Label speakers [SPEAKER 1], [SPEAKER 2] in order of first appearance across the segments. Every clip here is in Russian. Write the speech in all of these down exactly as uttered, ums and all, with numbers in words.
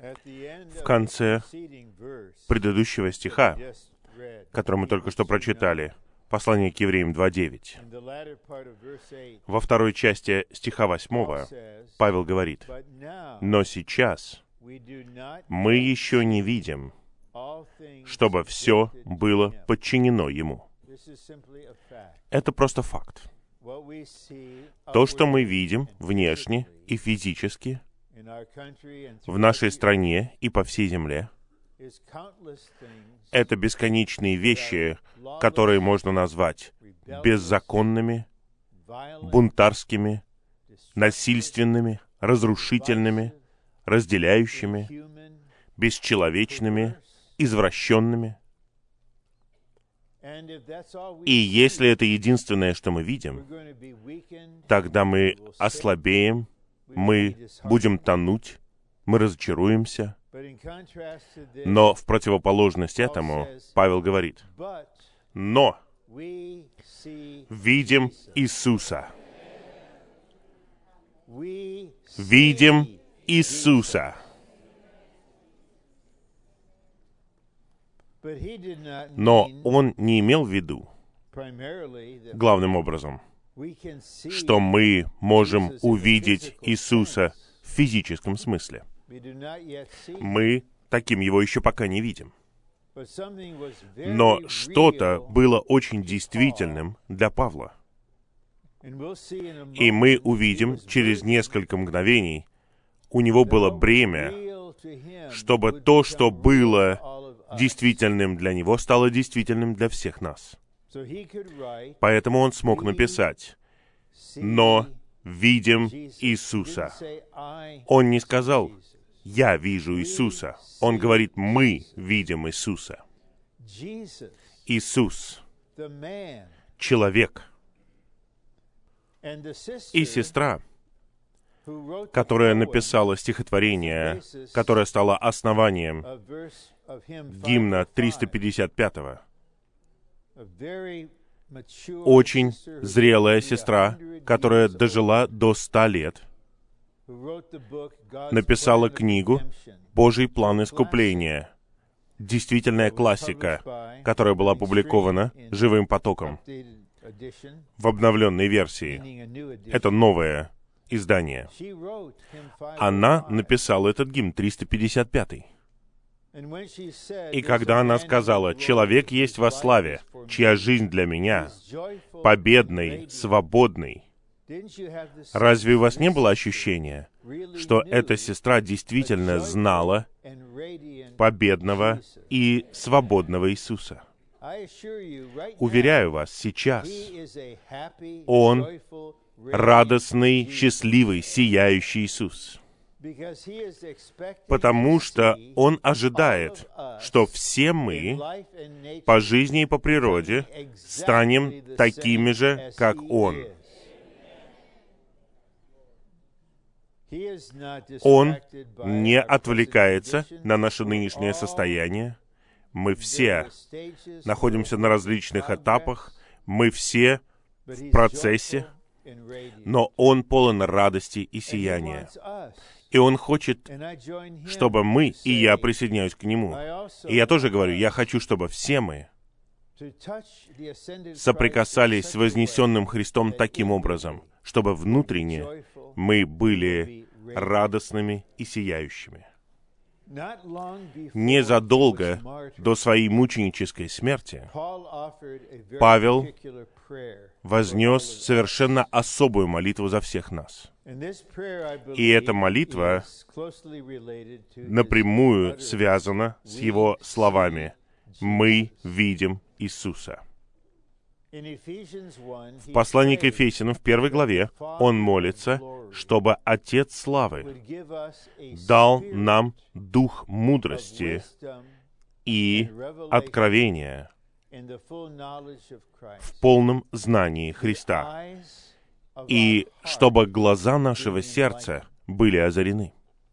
[SPEAKER 1] В конце предыдущего стиха, который мы только что прочитали, послание к Евреям два девять, во второй части стиха восьмого Павел говорит: «Но сейчас мы еще не видим, чтобы все было подчинено Ему». Это просто факт. То, что мы видим внешне и физически в нашей стране и по всей земле, это бесконечные вещи, которые можно назвать беззаконными, бунтарскими, насильственными, разрушительными, разделяющими, бесчеловечными, извращенными. И если это единственное, что мы видим, тогда мы ослабеем, мы будем тонуть, мы разочаруемся. Но в противоположность этому Павел говорит: «Но видим Иисуса». Видим Иисуса. Но он не имел в виду, главным образом, что мы можем увидеть Иисуса в физическом смысле. Мы таким его еще пока не видим. Но что-то было очень действительным для Павла. И мы увидим через несколько мгновений, у него было бремя, чтобы то, что было действительным для него, стало действительным для всех нас. Поэтому он смог написать: «Но видим Иисуса». Он не сказал: «Я вижу Иисуса». Он говорит: «Мы видим Иисуса». Иисус, человек. И сестра, которая написала стихотворение, которое стало основанием гимна триста пятьдесят пятого, очень зрелая сестра, которая дожила до ста лет, написала книгу «Божий план искупления», действительная классика, которая была опубликована «Живым потоком» в обновленной версии. Это новое издание. Она написала этот гимн триста пятьдесят пятый. И когда она сказала: «Человек есть во славе, чья жизнь для меня победный, свободный», разве у вас не было ощущения, что эта сестра действительно знала победного и свободного Иисуса? Уверяю вас, сейчас Он радостный, счастливый, сияющий Иисус. Потому что Он ожидает, что все мы по жизни и по природе станем такими же, как Он. Он не отвлекается на наше нынешнее состояние. Мы все находимся на различных этапах, мы все в процессе, но Он полон радости и сияния. И Он хочет, чтобы мы, и я присоединяюсь к Нему. И я тоже говорю, я хочу, чтобы все мы соприкасались с вознесенным Христом таким образом, чтобы внутренне мы были радостными и сияющими. Незадолго до своей мученической смерти Павел вознес совершенно особую молитву за всех нас. И эта молитва напрямую связана с его словами: «Мы видим Иисуса». В послании к Ефесянам, в первой главе, он молится, чтобы Отец Славы дал нам дух мудрости и откровения в полном знании Христа, и чтобы глаза нашего сердца были озарены.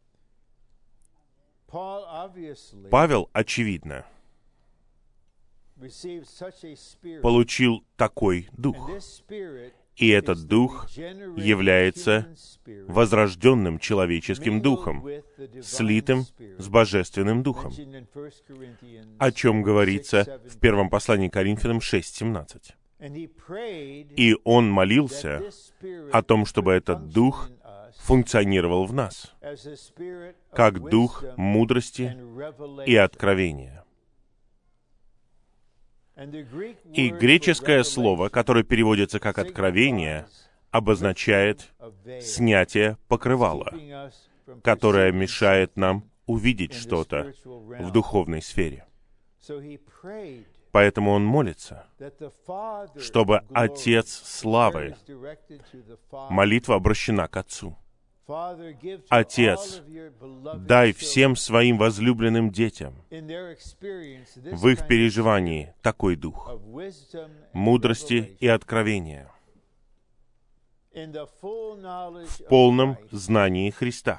[SPEAKER 1] Павел, очевидно, получил такой дух. И этот дух является возрожденным человеческим духом, слитым с божественным духом, о чем говорится в первом послании к Коринфянам шесть семнадцать. И он молился о том, чтобы этот дух функционировал в нас, как дух мудрости и откровения. И греческое слово, которое переводится как «откровение», обозначает снятие покрывала, которое мешает нам увидеть что-то в духовной сфере. Поэтому он молится, чтобы Отец славы, молитва обращена к Отцу. Отец, дай всем своим возлюбленным детям в их переживании такой дух мудрости и откровения в полном знании Христа,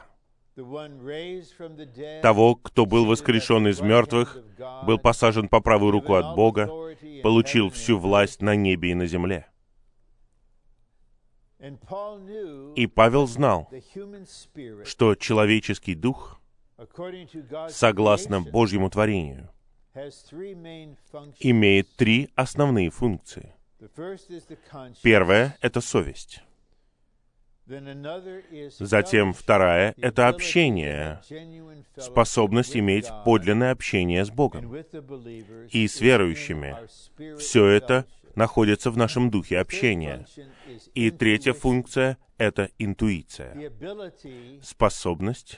[SPEAKER 1] того, кто был воскрешен из мертвых, был посажен по правую руку от Бога, получил всю власть на небе и на земле. И Павел знал, что человеческий дух, согласно Божьему творению, имеет три основные функции. Первая — это совесть. Затем вторая — это общение, способность иметь подлинное общение с Богом и с верующими. Все это находится в нашем духе общения. И третья функция — это интуиция, способность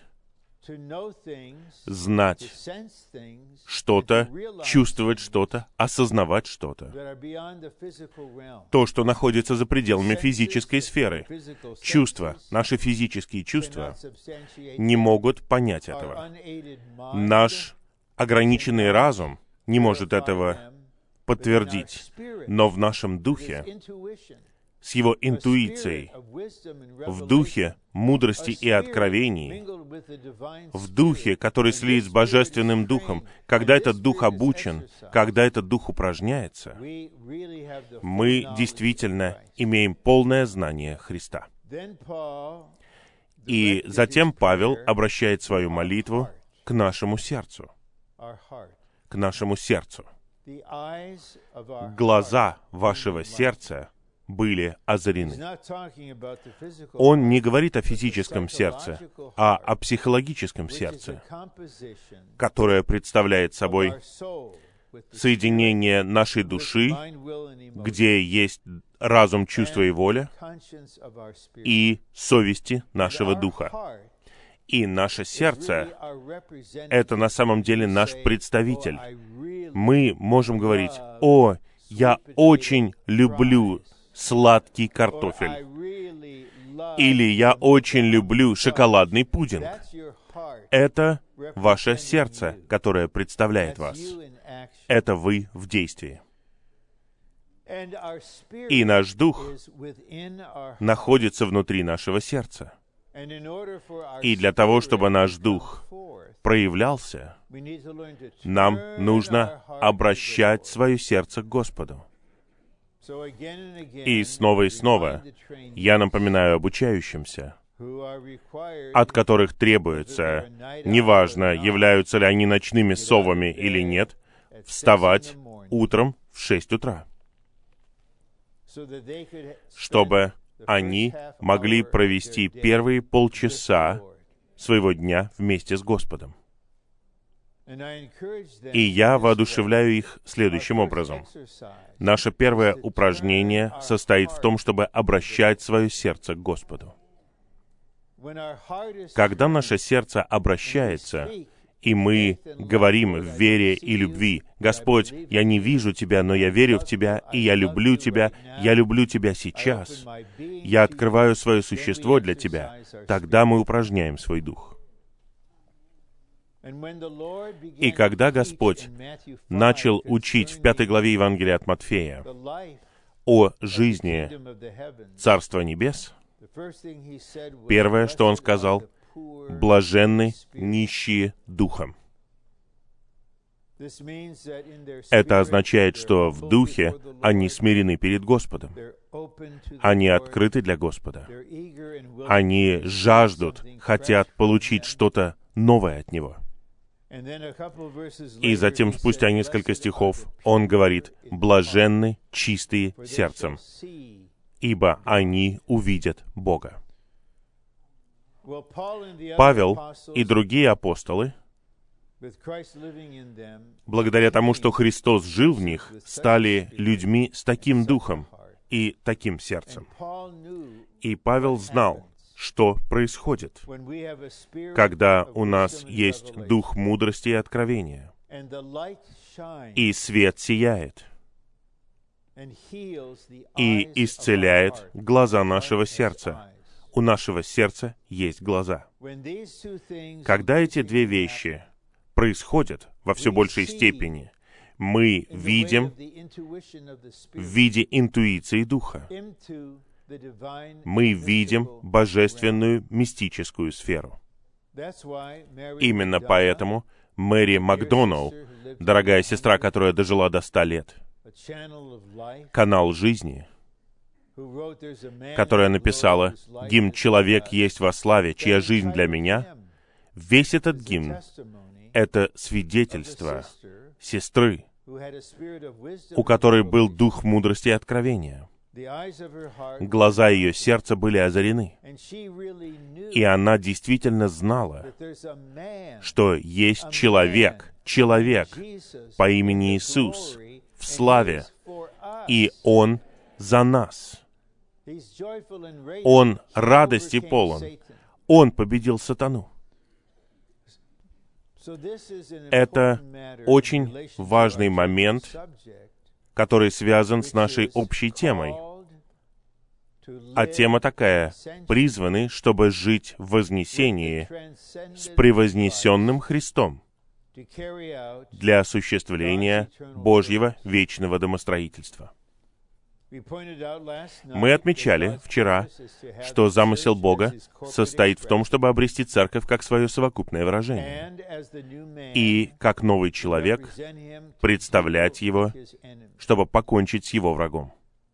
[SPEAKER 1] знать что-то, чувствовать что-то, осознавать что-то. То, что находится за пределами физической сферы. Чувства, наши физические чувства, не могут понять этого. Наш ограниченный разум не может этого подтвердить. Но в нашем духе, с его интуицией, в духе мудрости и откровений, в духе, который слит с Божественным Духом, когда этот Дух обучен, когда этот Дух упражняется, мы действительно имеем полное знание Христа. И затем Павел обращает свою молитву к нашему сердцу. К нашему сердцу. Глаза вашего сердца были озарены. Он не говорит о физическом сердце, а о психологическом сердце, которое представляет собой соединение нашей души, где есть разум, чувство и воля, и совести нашего духа. И наше сердце — это на самом деле наш представитель. Мы можем говорить: «О, я очень люблю сладкий картофель», или «Я очень люблю шоколадный пудинг». Это ваше сердце, которое представляет вас. Это вы в действии. И наш дух находится внутри нашего сердца. И для того, чтобы наш дух проявлялся, нам нужно обращать свое сердце к Господу. И снова и снова я напоминаю обучающимся, от которых требуется, неважно, являются ли они ночными совами или нет, вставать утром в шесть утра, чтобы они могли провести первые полчаса своего дня вместе с Господом. И я воодушевляю их следующим образом. Наше первое упражнение состоит в том, чтобы обращать свое сердце к Господу. Когда наше сердце обращается, и мы говорим в вере и любви: «Господь, я не вижу Тебя, но я верю в Тебя, и я люблю Тебя, я люблю Тебя сейчас. Я открываю свое существо для Тебя», тогда мы упражняем свой дух. И когда Господь начал учить в пятой главе Евангелия от Матфея о жизни Царства Небес, первое, что Он сказал: «Блаженны нищие духом». Это означает, что в духе они смирены перед Господом. Они открыты для Господа. Они жаждут, хотят получить что-то новое от Него. И затем, спустя несколько стихов, он говорит: «Блаженны чистые сердцем, ибо они увидят Бога». Павел и другие апостолы, благодаря тому, что Христос жил в них, стали людьми с таким духом и таким сердцем. И Павел знал, что происходит, когда у нас есть дух мудрости и откровения, и свет сияет, и исцеляет глаза нашего сердца. У нашего сердца есть глаза. Когда эти две вещи происходят во все большей степени, мы видим в виде интуиции Духа. Мы видим божественную мистическую сферу. Именно поэтому Мэри Макдоналл, дорогая сестра, которая дожила до ста лет, канал жизни, которая написала гимн «Человек есть во славе, чья жизнь для меня», весь этот гимн — это свидетельство сестры, у которой был дух мудрости и откровения. Глаза ее сердца были озарены, и она действительно знала, что есть человек, человек по имени Иисус в славе, и Он за нас. Он радости полон. Он победил сатану. Это очень важный момент, который связан с нашей общей темой. А тема такая: призваны, чтобы жить в вознесении с превознесенным Христом для осуществления Божьего вечного домостроительства. Мы отмечали вчера, что замысел Бога состоит в том, чтобы обрести церковь как свое совокупное выражение, и как новый человек представлять его, чтобы покончить с его врагом.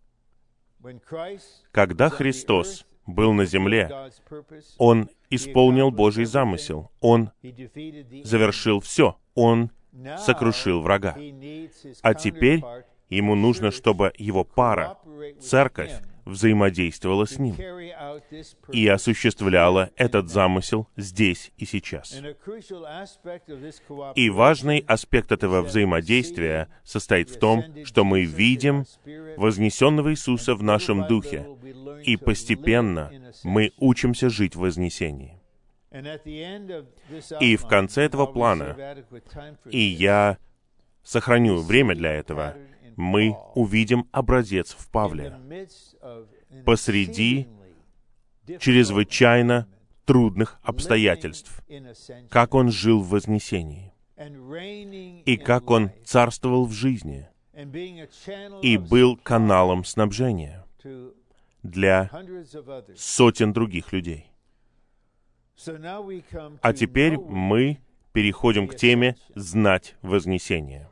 [SPEAKER 1] Когда Христос был на земле, Он исполнил Божий замысел, Он завершил все, Он сокрушил врага. А теперь Ему нужно, чтобы Его пара, церковь, взаимодействовала с Ним и осуществляла этот замысел здесь и сейчас. И важный аспект этого взаимодействия состоит в том, что мы видим вознесенного Иисуса в нашем духе, и постепенно мы учимся жить в вознесении. И в конце этого плана, и я сохраню время для этого, мы увидим образец в Павле посреди чрезвычайно трудных обстоятельств, как он жил в вознесении, и как он царствовал в жизни, и был каналом снабжения для сотен других людей. А теперь мы переходим к теме «Знать вознесение».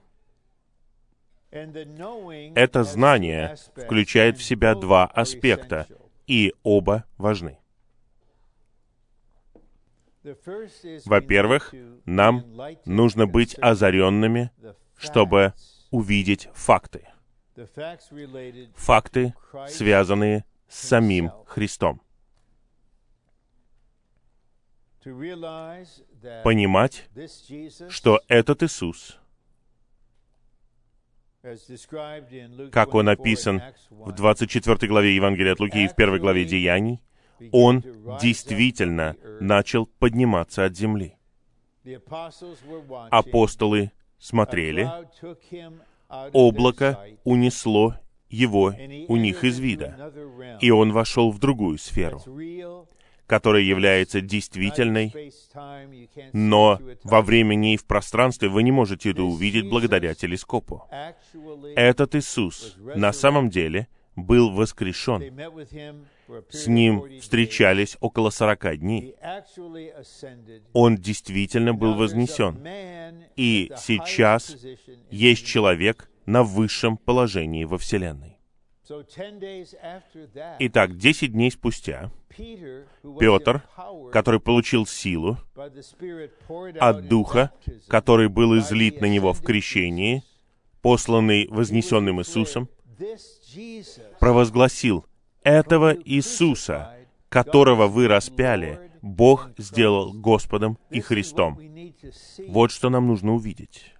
[SPEAKER 1] Это знание включает в себя два аспекта, и оба важны. Во-первых, нам нужно быть озаренными, чтобы увидеть факты. Факты, связанные с самим Христом. Понимать, что этот Иисус, как Он описан в двадцать четвёртой главе Евангелия от Луки и в первой главе Деяний, Он действительно начал подниматься от земли. Апостолы смотрели, облако унесло Его у них из вида, и Он вошел в другую сферу, которая является действительной, но во времени и в пространстве вы не можете это увидеть благодаря телескопу. Этот Иисус на самом деле был воскрешен. С Ним встречались около сорока дней. Он действительно был вознесен. И сейчас есть человек на высшем положении во Вселенной. Итак, десять дней спустя Петр, который получил силу от Духа, который был излит на него в крещении, посланный вознесенным Иисусом, провозгласил: «Этого Иисуса, которого вы распяли, Бог сделал Господом и Христом». Вот что нам нужно увидеть.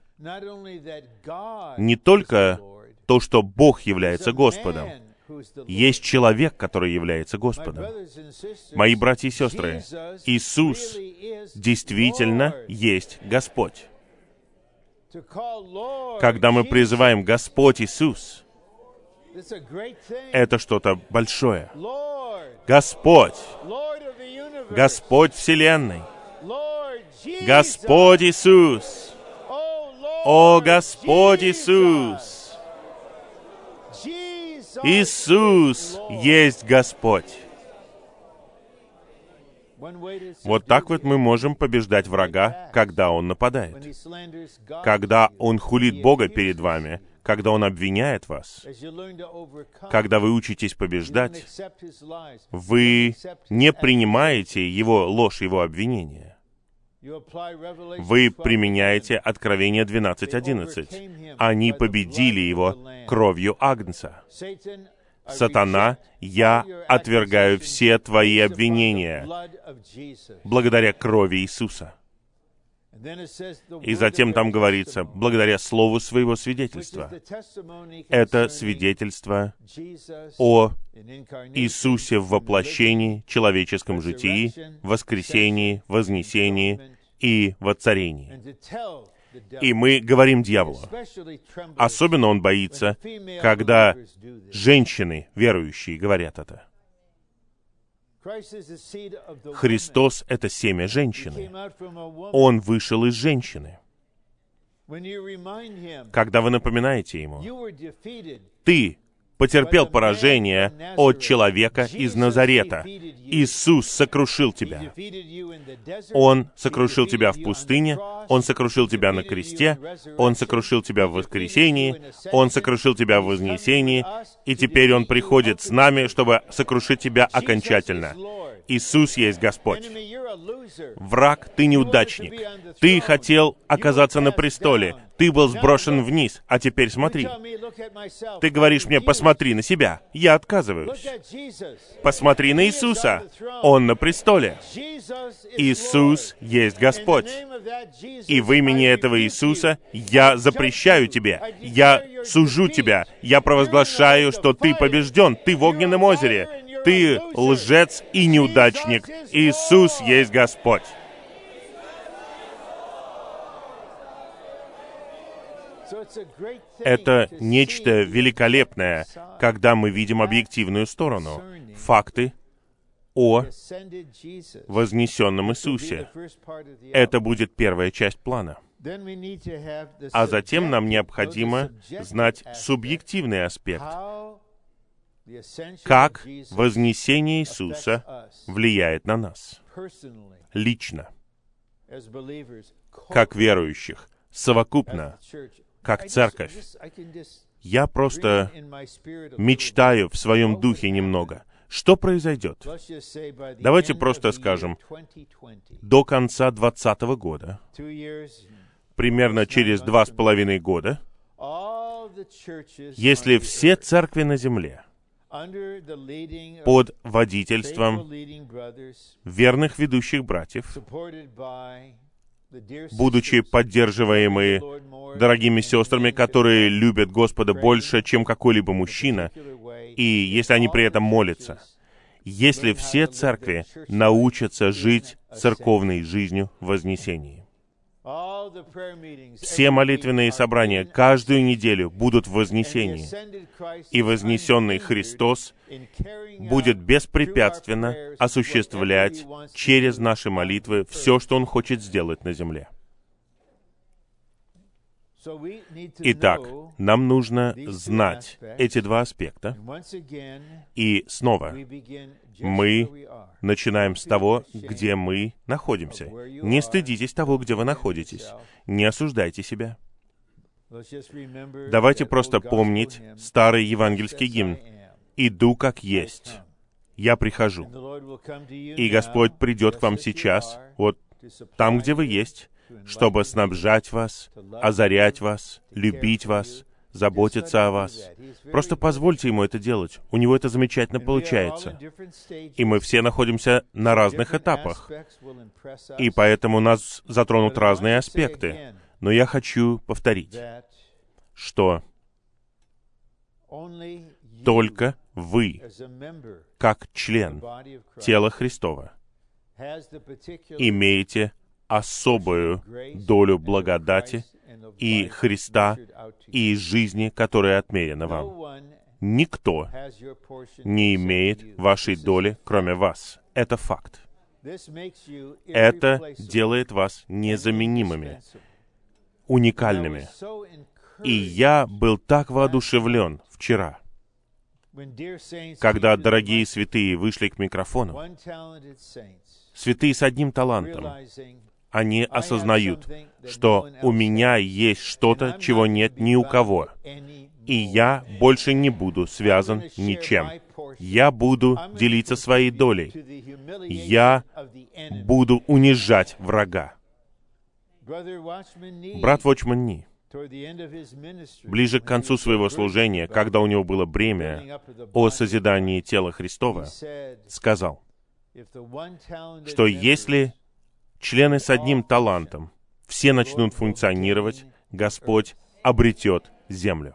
[SPEAKER 1] Не только то, что Бог является Господом. Есть человек, который является Господом. Мои братья и сестры, Иисус действительно есть Господь. Когда мы призываем «Господь Иисус», это что-то большое. Господь, Господь Вселенной, Господь Иисус, о Господь Иисус, Иисус есть Господь. Вот так вот мы можем побеждать врага, когда он нападает, когда он хулит Бога перед вами, когда он обвиняет вас, когда вы учитесь побеждать, вы не принимаете его ложь, его обвинения. Вы применяете Откровение двенадцать одиннадцать. Они победили его кровью Агнца. Сатана, я отвергаю все твои обвинения благодаря крови Иисуса. И затем там говорится, благодаря слову своего свидетельства. Это свидетельство о Иисусе в воплощении, человеческом житии, воскресении, вознесении и воцарении. И мы говорим дьяволу. Особенно он боится, когда женщины, верующие, говорят это. Христос — это семя женщины. Он вышел из женщины. Когда вы напоминаете Ему, ты потерпел поражение от человека из Назарета. Иисус сокрушил тебя. Он сокрушил тебя в пустыне, Он сокрушил тебя на кресте, Он сокрушил тебя в воскресении, Он сокрушил тебя в вознесении, и теперь Он приходит с нами, чтобы сокрушить тебя окончательно. Иисус есть Господь. Враг, ты неудачник. Ты хотел оказаться на престоле. Ты был сброшен вниз, а теперь смотри. Ты говоришь мне, посмотри на себя. Я отказываюсь. Посмотри на Иисуса. Он на престоле. Иисус есть Господь. И в имени этого Иисуса я запрещаю тебе. Я сужу тебя. Я провозглашаю, что ты побежден. Ты в огненном озере. Ты лжец и неудачник. Иисус есть Господь. Это нечто великолепное, когда мы видим объективную сторону, факты о вознесенном Иисусе. Это будет первая часть плана. А затем нам необходимо знать субъективный аспект. Как вознесение Иисуса влияет на нас лично, как верующих, совокупно, как церковь. Я просто мечтаю в своем духе немного. Что произойдет? Давайте просто скажем, до конца двадцатого года, примерно через два с половиной года, если все церкви на земле под водительством верных ведущих братьев, будучи поддерживаемые дорогими сестрами, которые любят Господа больше, чем какой-либо мужчина, и если они при этом молятся, если все церкви научатся жить церковной жизнью в вознесении, все молитвенные собрания каждую неделю будут в вознесении, и вознесенный Христос будет беспрепятственно осуществлять через наши молитвы все, что Он хочет сделать на земле. Итак, нам нужно знать эти два аспекта. И снова мы начинаем с того, где мы находимся. Не стыдитесь того, где вы находитесь. Не осуждайте себя. Давайте просто помнить старый евангельский гимн. «Иду как есть. Я прихожу». И Господь придет к вам сейчас, вот там, где вы есть, чтобы снабжать вас, озарять вас, любить вас, заботиться о вас. Просто позвольте Ему это делать. У Него это замечательно получается. И мы все находимся на разных этапах. И поэтому нас затронут разные аспекты. Но я хочу повторить, что только вы, как член тела Христова, имеете особую долю благодати и Христа, и жизни, которая отмерена вам. Никто не имеет вашей доли, кроме вас. Это факт. Это делает вас незаменимыми, уникальными. И я был так воодушевлен вчера, когда дорогие святые вышли к микрофону. Святые с одним талантом. Они осознают, что у меня есть что-то, чего нет ни у кого. И я больше не буду связан ничем. Я буду делиться своей долей. Я буду унижать врага. Брат Вочман Ни, ближе к концу своего служения, когда у него было бремя о созидании тела Христова, сказал, что если члены с одним талантом все начнут функционировать, Господь обретет землю.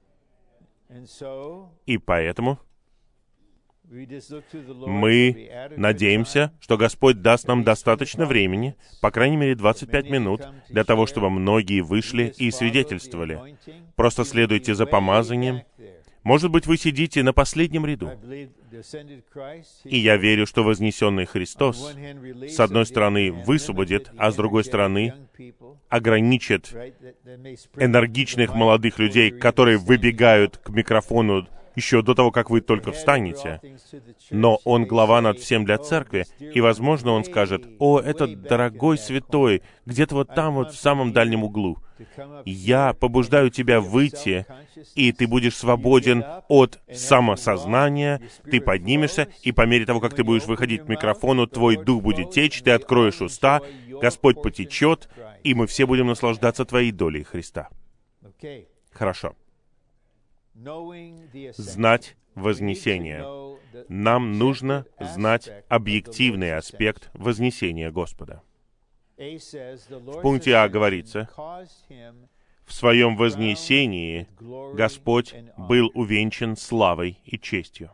[SPEAKER 1] И поэтому мы надеемся, что Господь даст нам достаточно времени, по крайней мере двадцать пять минут, для того, чтобы многие вышли и свидетельствовали. Просто следуйте за помазанием. Может быть, вы сидите на последнем ряду. И я верю, что вознесенный Христос, с одной стороны, высвободит, а с другой стороны, ограничит энергичных молодых людей, которые выбегают к микрофону еще до того, как вы только встанете. Но Он глава над всем для церкви, и, возможно, Он скажет: «О, этот дорогой святой, где-то вот там, вот в самом дальнем углу. Я побуждаю тебя выйти, и ты будешь свободен от самосознания, ты поднимешься, и по мере того, как ты будешь выходить к микрофону, твой дух будет течь, ты откроешь уста, Господь потечет, и мы все будем наслаждаться твоей долей Христа». Хорошо. Знать вознесение. Нам нужно знать объективный аспект вознесения Господа. В пункте А говорится: «В своем вознесении Господь был увенчан славой и честью».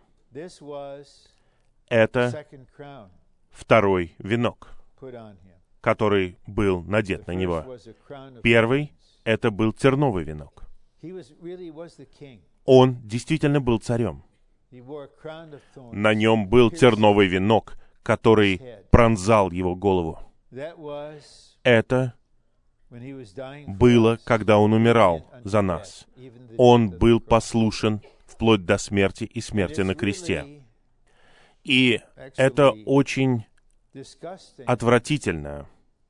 [SPEAKER 1] Это второй венок, который был надет на него. Первый — это был терновый венок. Он действительно был царем. На нем был терновый венок, который пронзал его голову. Это было, когда он умирал за нас. Он был послушен вплоть до смерти и смерти на кресте. И это очень отвратительно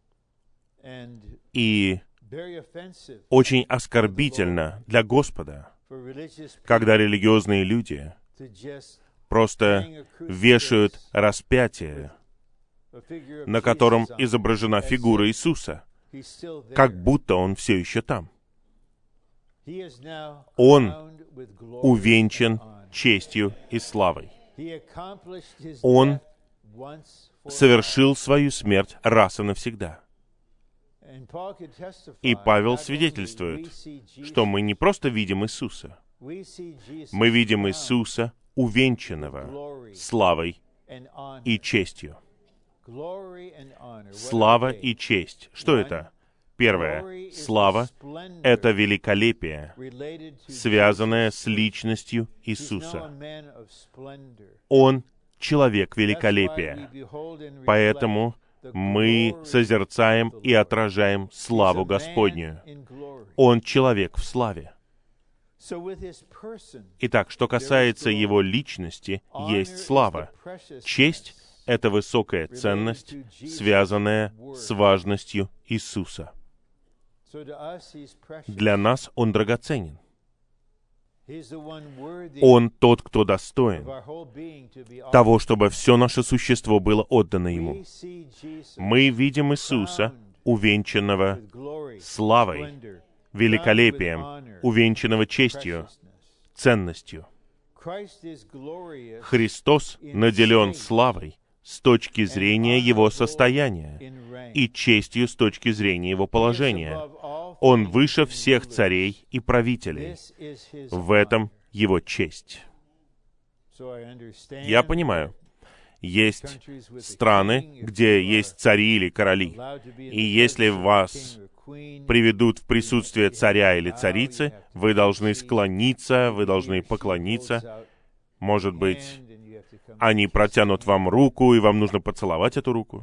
[SPEAKER 1] и очень оскорбительно для Господа, когда религиозные люди просто вешают распятие, на котором изображена фигура Иисуса, как будто Он все еще там. Он увенчан честью и славой. Он совершил свою смерть раз и навсегда. И Павел свидетельствует, что мы не просто видим Иисуса, мы видим Иисуса, увенчанного славой и честью. Слава и честь. Что это? Первое. Слава — это великолепие, связанное с личностью Иисуса. Он — человек великолепия. Поэтому мы созерцаем и отражаем славу Господню. Он человек в славе. Итак, что касается Его личности, есть слава. Честь — это высокая ценность, связанная с важностью Иисуса. Для нас Он драгоценен. Он тот, кто достоин того, чтобы все наше существо было отдано Ему. Мы видим Иисуса, увенчанного славой, великолепием, увенчанного честью, ценностью. Христос наделен славой с точки зрения Его состояния и честью с точки зрения Его положения. Он выше всех царей и правителей. В этом Его честь. Я понимаю, есть страны, где есть цари или короли, и если вас приведут в присутствие царя или царицы, вы должны склониться, вы должны поклониться. Может быть, они протянут вам руку, и вам нужно поцеловать эту руку.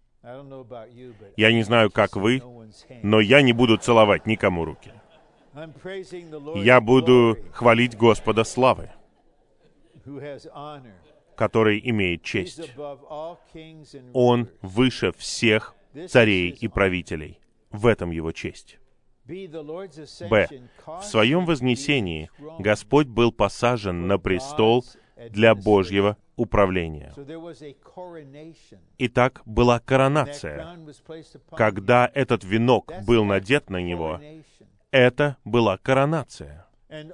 [SPEAKER 1] Я не знаю, как вы, но я не буду целовать никому руки. Я буду хвалить Господа славы, который имеет честь. Он выше всех царей и правителей. В этом Его честь. Б. В Своем вознесении Господь был посажен на престол для Божьего управления. Итак, была коронация. Когда этот венок был надет на Него, это была коронация.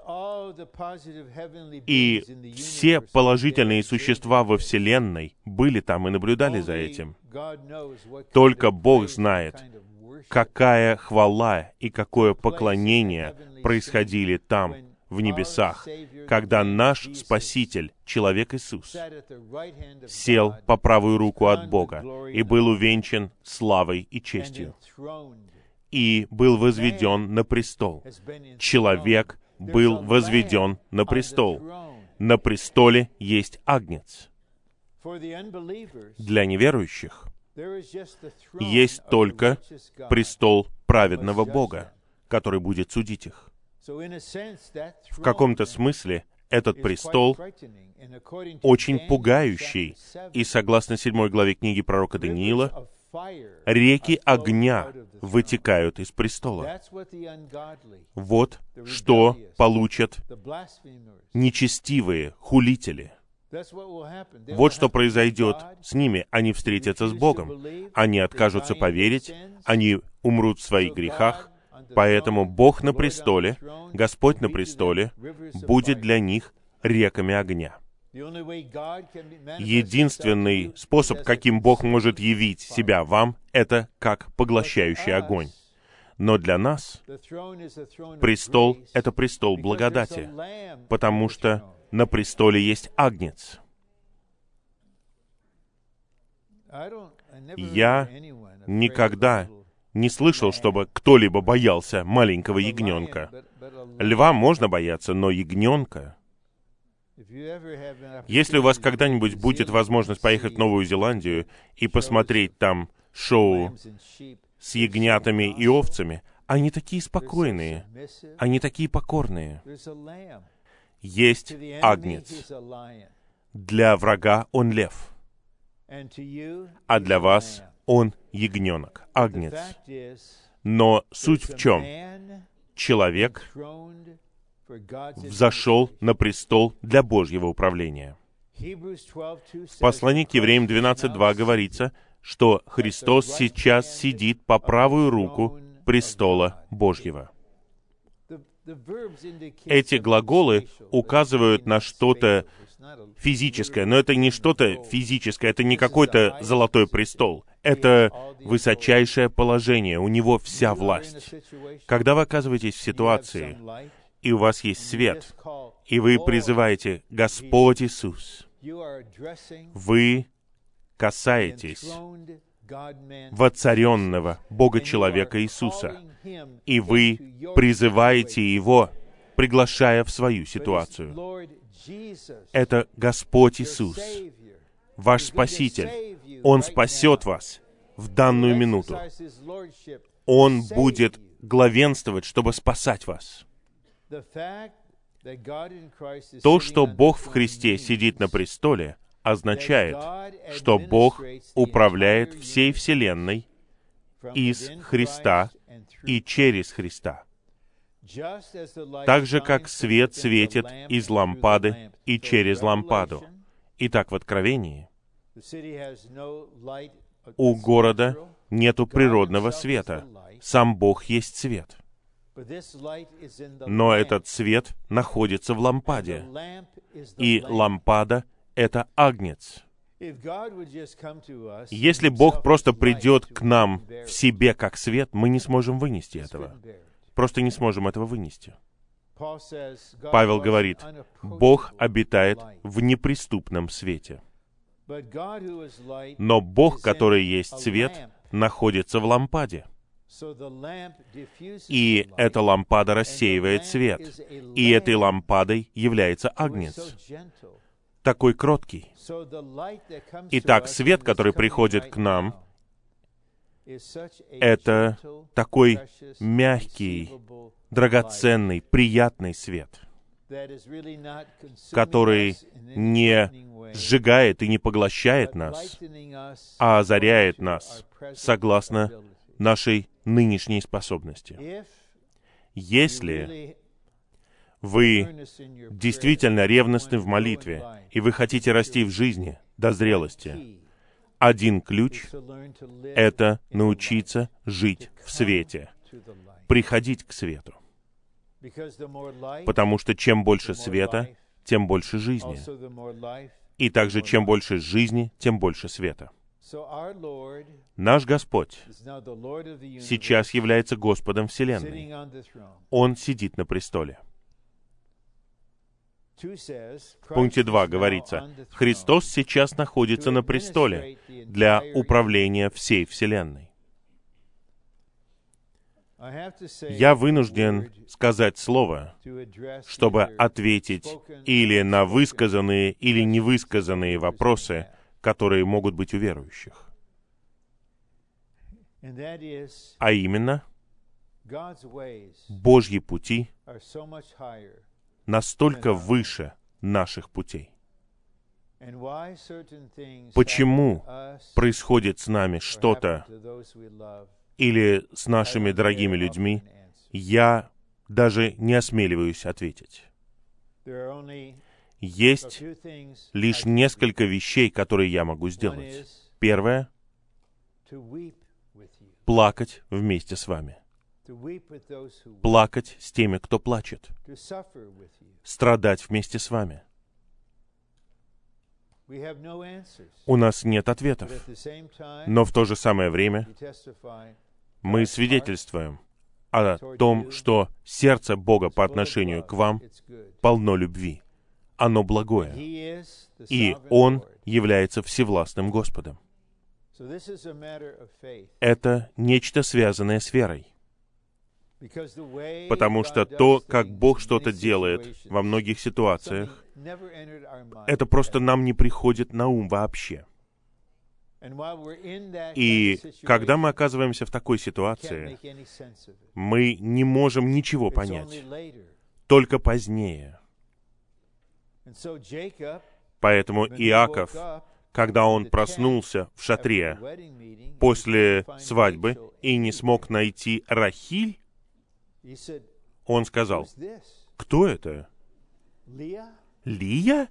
[SPEAKER 1] И все положительные существа во Вселенной были там и наблюдали за этим. Только Бог знает, какая хвала и какое поклонение происходили там, в небесах, когда наш Спаситель, человек Иисус, сел по правую руку от Бога и был увенчан славой и честью, и был возведен на престол. Человек был возведен на престол. На престоле есть Агнец. Для неверующих есть только престол праведного Бога, который будет судить их. В каком-то смысле этот престол очень пугающий, и согласно седьмой главе книги пророка Даниила, реки огня вытекают из престола. Вот что получат нечестивые хулители. Вот что произойдет с ними. Они встретятся с Богом. Они откажутся поверить, они умрут в своих грехах. Поэтому Бог на престоле, Господь на престоле, будет для них реками огня. Единственный способ, каким Бог может явить себя вам, это как поглощающий огонь. Но для нас престол — это престол благодати, потому что на престоле есть Агнец. Я никогда не слышал, чтобы кто-либо боялся маленького ягненка. Льва можно бояться, но ягненка... Если у вас когда-нибудь будет возможность поехать в Новую Зеландию и посмотреть там шоу с ягнятами и овцами, они такие спокойные, они такие покорные. Есть Агнец. Для врага он лев, а для вас он ягненок, Агнец. Но суть в чем? Человек взошел на престол для Божьего управления. В послании к Евреям двенадцать два говорится, что Христос сейчас сидит по правую руку престола Божьего. Эти глаголы указывают на что-то физическое, но это не что-то физическое, это не какой-то золотой престол. Это высочайшее положение, у Него вся власть. Когда вы оказываетесь в ситуации, и у вас есть свет, и вы призываете «Господь Иисус», вы касаетесь воцаренного Бога-человека Иисуса, и вы призываете Его, приглашая в свою ситуацию. Это Господь Иисус, ваш Спаситель. Он спасет вас в данную минуту. Он будет главенствовать, чтобы спасать вас. То, что Бог в Христе сидит на престоле, означает, что Бог управляет всей Вселенной из Христа и через Христа. Так же, как свет светит из лампады и через лампаду. Итак, в Откровении у города нету природного света. Сам Бог есть свет. Но этот свет находится в лампаде. И лампада — это агнец. Если Бог просто придет к нам в себе как свет, мы не сможем вынести этого. Просто не сможем этого вынести. Павел говорит, Бог обитает в неприступном свете. Но Бог, который есть свет, находится в лампаде. И эта лампада рассеивает свет. И этой лампадой является агнец, такой кроткий. Итак, свет, который приходит к нам, это такой мягкий, драгоценный, приятный свет, который не сжигает и не поглощает нас, а озаряет нас согласно нашей нынешней способности. Если вы действительно ревностны в молитве, и вы хотите расти в жизни до зрелости, один ключ — это научиться жить в свете, приходить к свету. Потому что чем больше света, тем больше жизни. И также, чем больше жизни, тем больше света. Наш Господь сейчас является Господом Вселенной. Он сидит на престоле. В пункте два говорится, Христос сейчас находится на престоле для управления всей Вселенной. Я вынужден сказать слово, чтобы ответить или на высказанные, или невысказанные вопросы, которые могут быть у верующих. А именно, Божьи пути настолько выше наших путей. Почему происходит с нами что-то или с нашими дорогими людьми, я даже не осмеливаюсь ответить. Есть лишь несколько вещей, которые я могу сделать. Первое — плакать вместе с вами. Плакать с теми, кто плачет. Страдать вместе с вами. У нас нет ответов. Но в то же самое время мы свидетельствуем о том, что сердце Бога по отношению к вам полно любви. Оно благое. И Он является всевластным Господом. Это нечто связанное с верой. Потому что то, как Бог что-то делает во многих ситуациях, это просто нам не приходит на ум вообще. И когда мы оказываемся в такой ситуации, мы не можем ничего понять. Только позднее. Поэтому Иаков, когда он проснулся в шатре после свадьбы и не смог найти Рахиль, он сказал, «Кто это? Лия?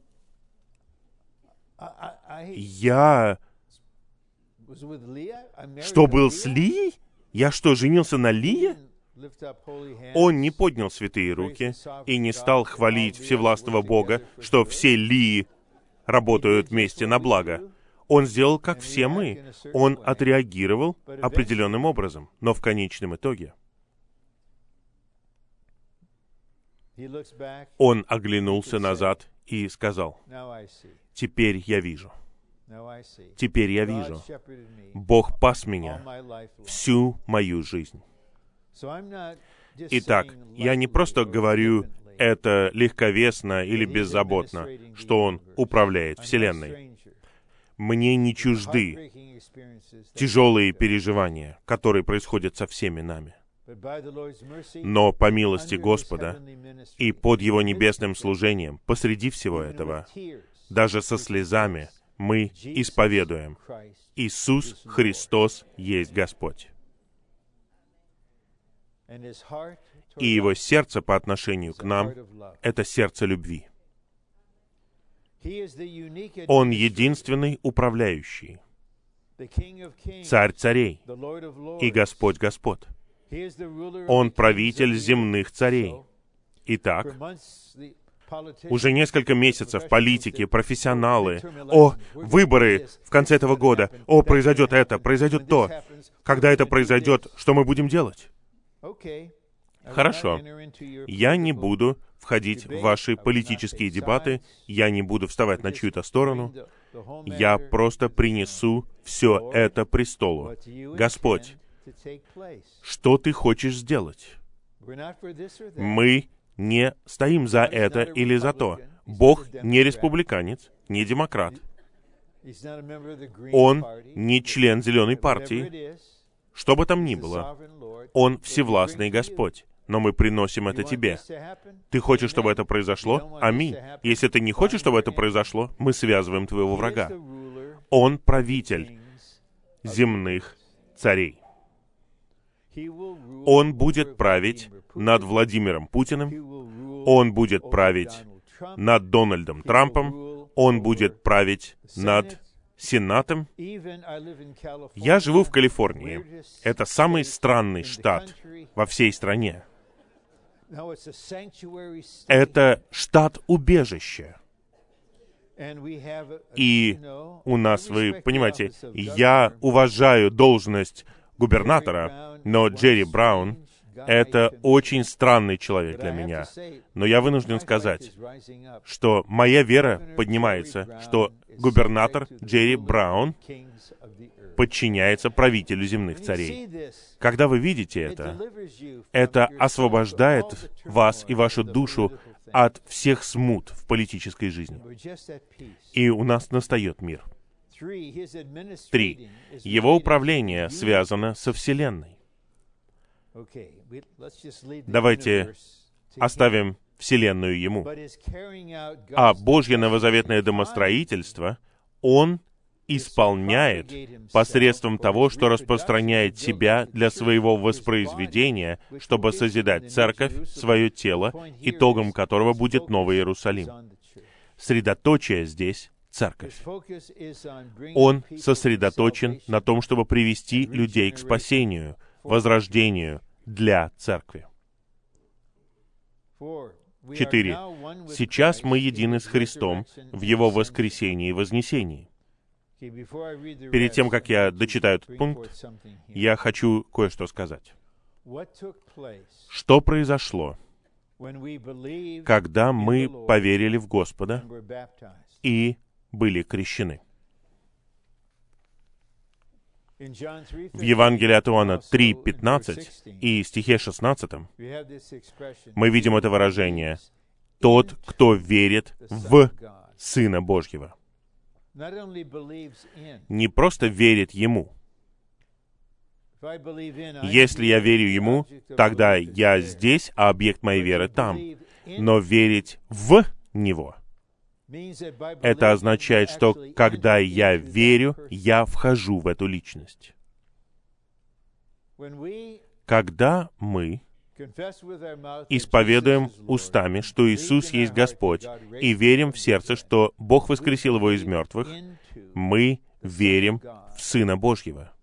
[SPEAKER 1] Я... Что, был с Лией? Я что, женился на Лие?» Он не поднял святые руки и не стал хвалить всевластного Бога, что все Лии работают вместе на благо. Он сделал, как все мы. Он отреагировал определенным образом. Но в конечном итоге он оглянулся назад и сказал, «Теперь я вижу. Теперь я вижу. Бог пас меня всю мою жизнь». Итак, я не просто говорю это легковесно или беззаботно, что Он управляет Вселенной. Мне не чужды тяжелые переживания, которые происходят со всеми нами. Но по милости Господа и под Его небесным служением, посреди всего этого, даже со слезами, мы исповедуем: Иисус Христос есть Господь. И Его сердце по отношению к нам — это сердце любви. Он единственный управляющий, Царь царей и Господь господ. Он правитель земных царей. Итак, уже несколько месяцев политики, профессионалы, о, выборы в конце этого года, о, произойдет это, произойдет то. Когда это произойдет, что мы будем делать? Хорошо. Я не буду входить в ваши политические дебаты, я не буду вставать на чью-то сторону. Я просто принесу все это престолу. Господь, что Ты хочешь сделать? Мы не стоим за это или за то. Бог не республиканец, не демократ. Он не член Зеленой партии. Что бы там ни было, Он всевластный Господь. Но мы приносим это Тебе. Ты хочешь, чтобы это произошло? Аминь. Если ты не хочешь, чтобы это произошло, мы связываем твоего врага. Он правитель земных царей. Он будет править над Владимиром Путиным. Он будет править над Дональдом Трампом. Он будет править над Сенатом. Я живу в Калифорнии. Это самый странный штат во всей стране. Это штат-убежище. И у нас, вы понимаете, я уважаю должность губернатора, но Джерри Браун — это очень странный человек для меня. Но я вынужден сказать, что моя вера поднимается, что губернатор Джерри Браун подчиняется правителю земных царей. Когда вы видите это, это освобождает вас и вашу душу от всех смут в политической жизни. И у нас настает мир. Три. Его управление связано со Вселенной. Давайте оставим Вселенную Ему. А Божье новозаветное домостроительство Он исполняет посредством того, что распространяет себя для своего воспроизведения, чтобы созидать церковь, свое тело, итогом которого будет Новый Иерусалим. Средоточие здесь — церковь. Он сосредоточен на том, чтобы привести людей к спасению, возрождению для церкви. Четыре. Сейчас мы едины с Христом в Его воскресении и вознесении. Перед тем, как я дочитаю этот пункт, я хочу кое-что сказать. Что произошло, когда мы поверили в Господа и были крещены? В Евангелии от Иоанна три пятнадцать и стихе шестнадцатом мы видим это выражение: «Тот, кто верит в Сына Божьего». Не просто верит Ему. Если я верю Ему, тогда я здесь, а объект моей веры там. Но верить в Него — это означает, что когда я верю, я вхожу в эту личность. Когда мы исповедуем устами, что Иисус есть Господь, и верим в сердце, что Бог воскресил Его из мертвых, мы верим в Сына Божьего.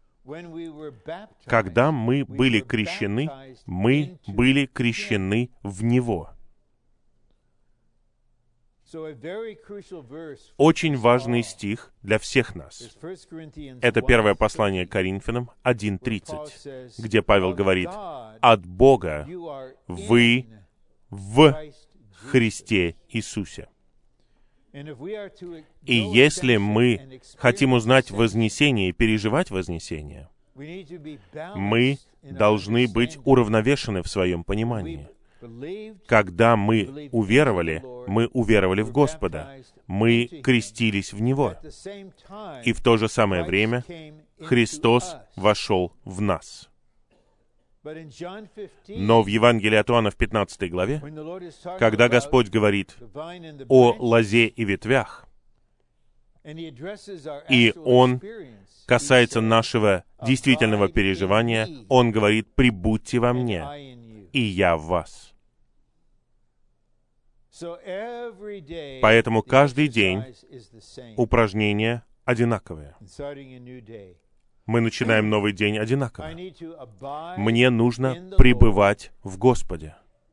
[SPEAKER 1] Когда мы были крещены, мы были крещены в Него. Очень важный стих для всех нас. Это первое послание к Коринфянам один тридцать, где Павел говорит: «От Бога вы в Христе Иисусе». И если мы хотим узнать вознесение и переживать вознесение, мы должны быть уравновешены в своем понимании. Когда мы уверовали, мы уверовали в Господа, мы крестились в Него, и в то же самое время Христос вошел в нас. Но в Евангелии от Иоанна в пятнадцатой главе, когда Господь говорит о лозе и ветвях, и Он касается нашего действительного переживания, Он говорит: «Прибудьте во мне, и я в вас». Поэтому каждый день упражнения одинаковые. Мы начинаем новый день одинаково. Мне нужно пребывать в Господе,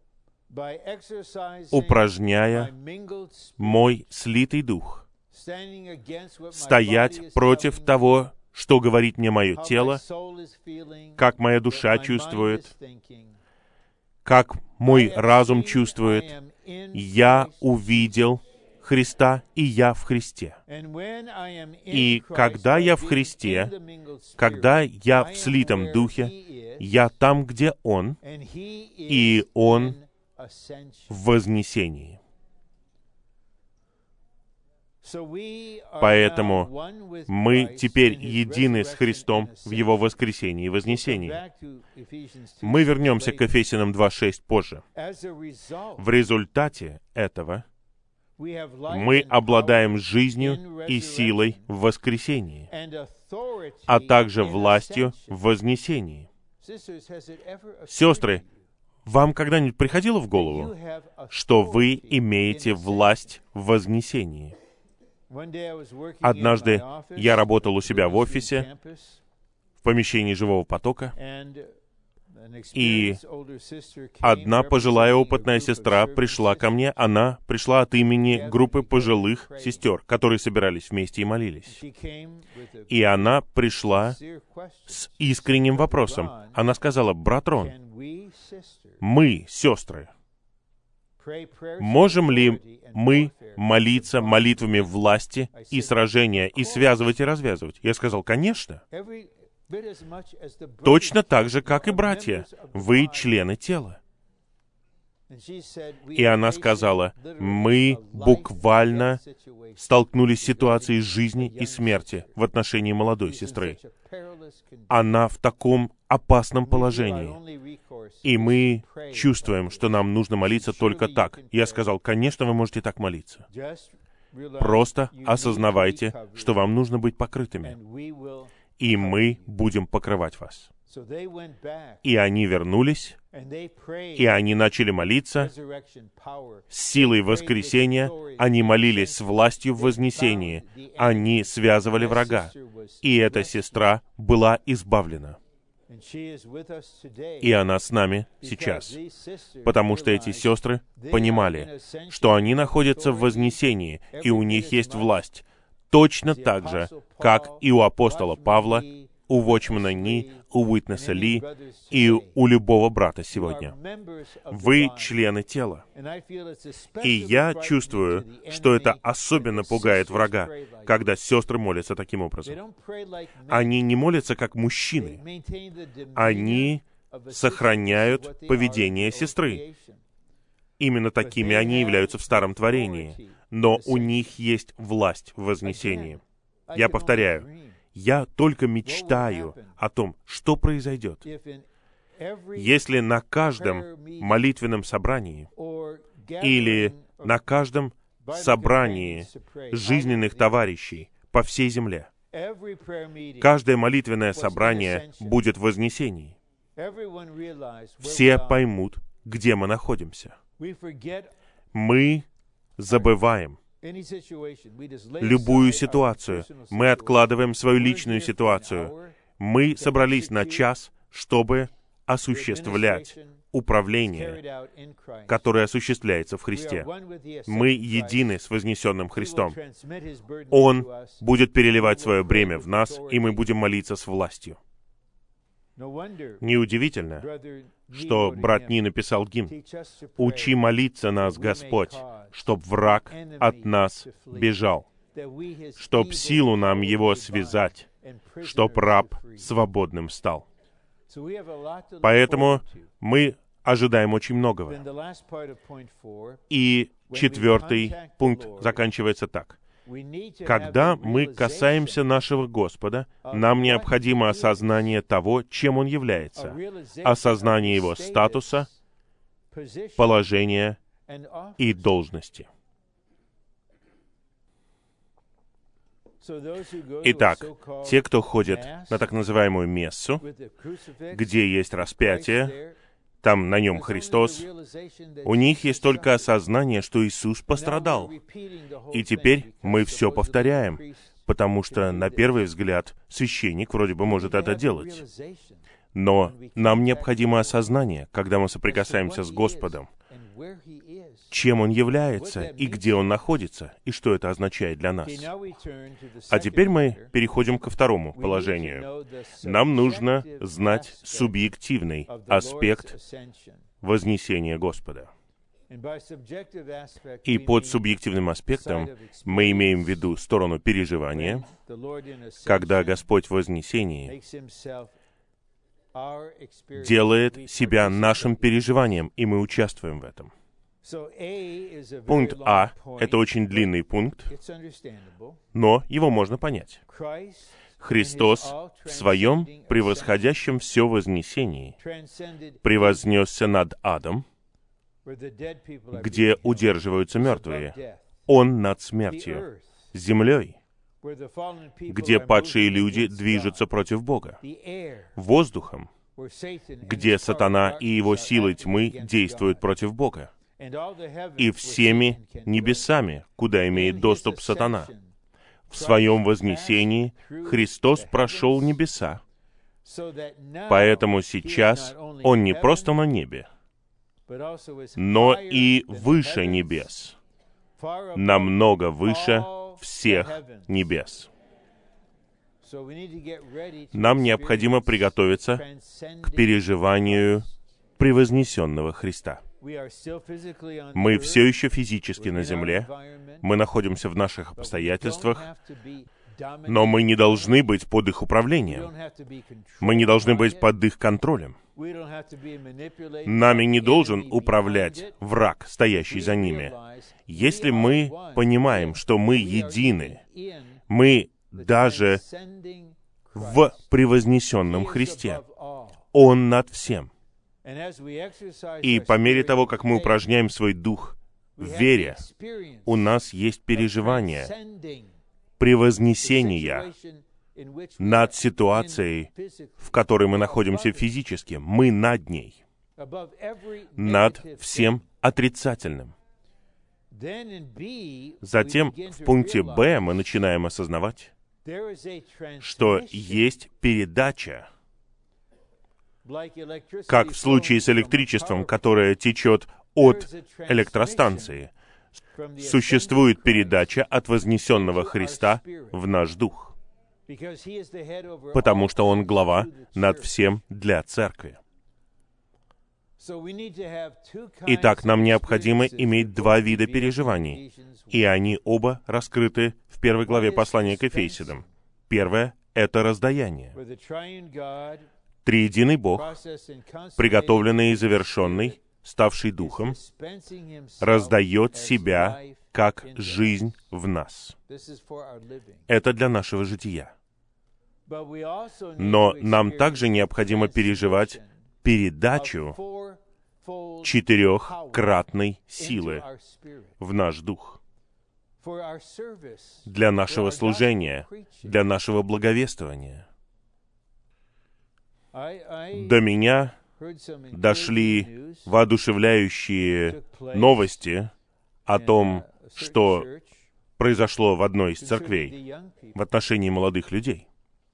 [SPEAKER 1] упражняя мой слитый дух, стоять против того, что говорит мне мое тело, как моя душа чувствует, как мой разум чувствует. Я увидел Христа, и я в Христе. И когда я в Христе, когда я в слитом Духе, я там, где Он, и Он в вознесении. Поэтому мы теперь едины с Христом в Его воскресении и вознесении. Мы вернемся к Ефесянам два шесть позже. В результате этого мы обладаем жизнью и силой в воскресении, а также властью в вознесении. Сестры, вам когда-нибудь приходило в голову, что вы имеете власть в вознесении? Однажды я работал у себя в офисе, в помещении живого потока, и одна пожилая опытная сестра пришла ко мне. Она пришла от имени группы пожилых сестер, которые собирались вместе и молились. И она пришла с искренним вопросом. Она сказала: «Брат Рон, мы, сестры, можем ли мы молиться молитвами власти и сражения, и связывать и развязывать?» Я сказал: «Конечно. Точно так же, как и братья. Вы члены тела». И она сказала: «Мы буквально столкнулись с ситуацией жизни и смерти в отношении молодой сестры. Она в таком опасном положении. И мы чувствуем, что нам нужно молиться только так». Я сказал: «Конечно, вы можете так молиться. Просто осознавайте, что вам нужно быть покрытыми, и мы будем покрывать вас». И они вернулись, и они начали молиться с силой воскресения, они молились с властью в вознесении, они связывали врага, и эта сестра была избавлена. И она с нами сейчас, потому что эти сестры понимали, что они находятся в вознесении, и у них есть власть, точно так же, как и у апостола Павла, у Вочмана Ни, у Уитнеса Ли и у любого брата сегодня. Вы члены тела. И я чувствую, что это особенно пугает врага, когда сестры молятся таким образом. Они не молятся как мужчины. Они сохраняют поведение сестры. Именно такими они являются в Старом Творении. Но у них есть власть в вознесении. Я повторяю, я только мечтаю о том, что произойдет, если на каждом молитвенном собрании или на каждом собрании жизненных товарищей по всей земле каждое молитвенное собрание будет в вознесении. Все поймут, где мы находимся. Мы забываем любую ситуацию. Мы откладываем свою личную ситуацию. Мы собрались на час, чтобы осуществлять управление, которое осуществляется в Христе. Мы едины с вознесенным Христом. Он будет переливать свое бремя в нас, и мы будем молиться с властью. Неудивительно, что брат Ни написал гимн: «Учи молиться нас, Господь, чтоб враг от нас бежал, чтоб силу нам его связать, чтоб раб свободным стал». Поэтому мы ожидаем очень многого. И четвертый пункт заканчивается так. Когда мы касаемся нашего Господа, нам необходимо осознание того, чем Он является, осознание Его статуса, положения и должности. Итак, те, кто ходит на так называемую мессу, где есть распятие, там на нем Христос, у них есть только осознание, что Иисус пострадал. И теперь мы все повторяем, потому что, на первый взгляд, священник вроде бы может это делать. Но нам необходимо осознание, когда мы соприкасаемся с Господом, чем Он является и где Он находится, и что это означает для нас. А теперь мы переходим ко второму положению. Нам нужно знать субъективный аспект вознесения Господа. И под субъективным аспектом мы имеем в виду сторону переживания, когда Господь в вознесении делает себя нашим переживанием, и мы участвуем в этом. Пункт А — это очень длинный пункт, но его можно понять. Христос в Своем превосходящем все вознесении превознесся над адом, где удерживаются мертвые. Он над смертью, землей, где падшие люди движутся против Бога, воздухом, где сатана и его силы тьмы действуют против Бога, и всеми небесами, куда имеет доступ сатана. В Своем вознесении Христос прошел небеса, поэтому сейчас Он не просто на небе, но и выше небес, намного выше всех небес. Нам необходимо приготовиться к переживанию превознесенного Христа. Мы все еще физически на земле, мы находимся в наших обстоятельствах, но мы не должны быть под их управлением. Мы не должны быть под их контролем. Нами не должен управлять враг, стоящий за ними. Если мы понимаем, что мы едины, мы даже в превознесенном Христе. Он над всем. И по мере того, как мы упражняем свой дух в вере, у нас есть переживание превознесения над ситуацией, в которой мы находимся физически. Мы над ней, над всем отрицательным. Затем в пункте Б мы начинаем осознавать, что есть передача, как в случае с электричеством, которое течет от электростанции. Существует передача от вознесенного Христа в наш дух, потому что Он глава над всем для церкви. Итак, нам необходимо иметь два вида переживаний, и они оба раскрыты в первой главе послания к Ефесянам. Первое — это раздаяние. Триединый Бог, приготовленный и завершенный, ставший Духом, раздает себя как жизнь в нас. Это для нашего жития. Но нам также необходимо переживать передачу четырехкратной силы в наш дух для нашего служения, для нашего благовествования. До меня дошли воодушевляющие новости о том, что произошло в одной из церквей в отношении молодых людей.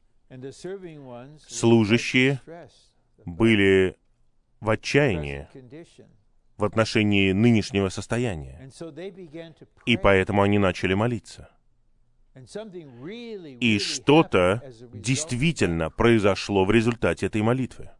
[SPEAKER 1] Служащие были в отчаянии в отношении нынешнего состояния, и поэтому они начали молиться. И что-то действительно произошло в результате этой молитвы.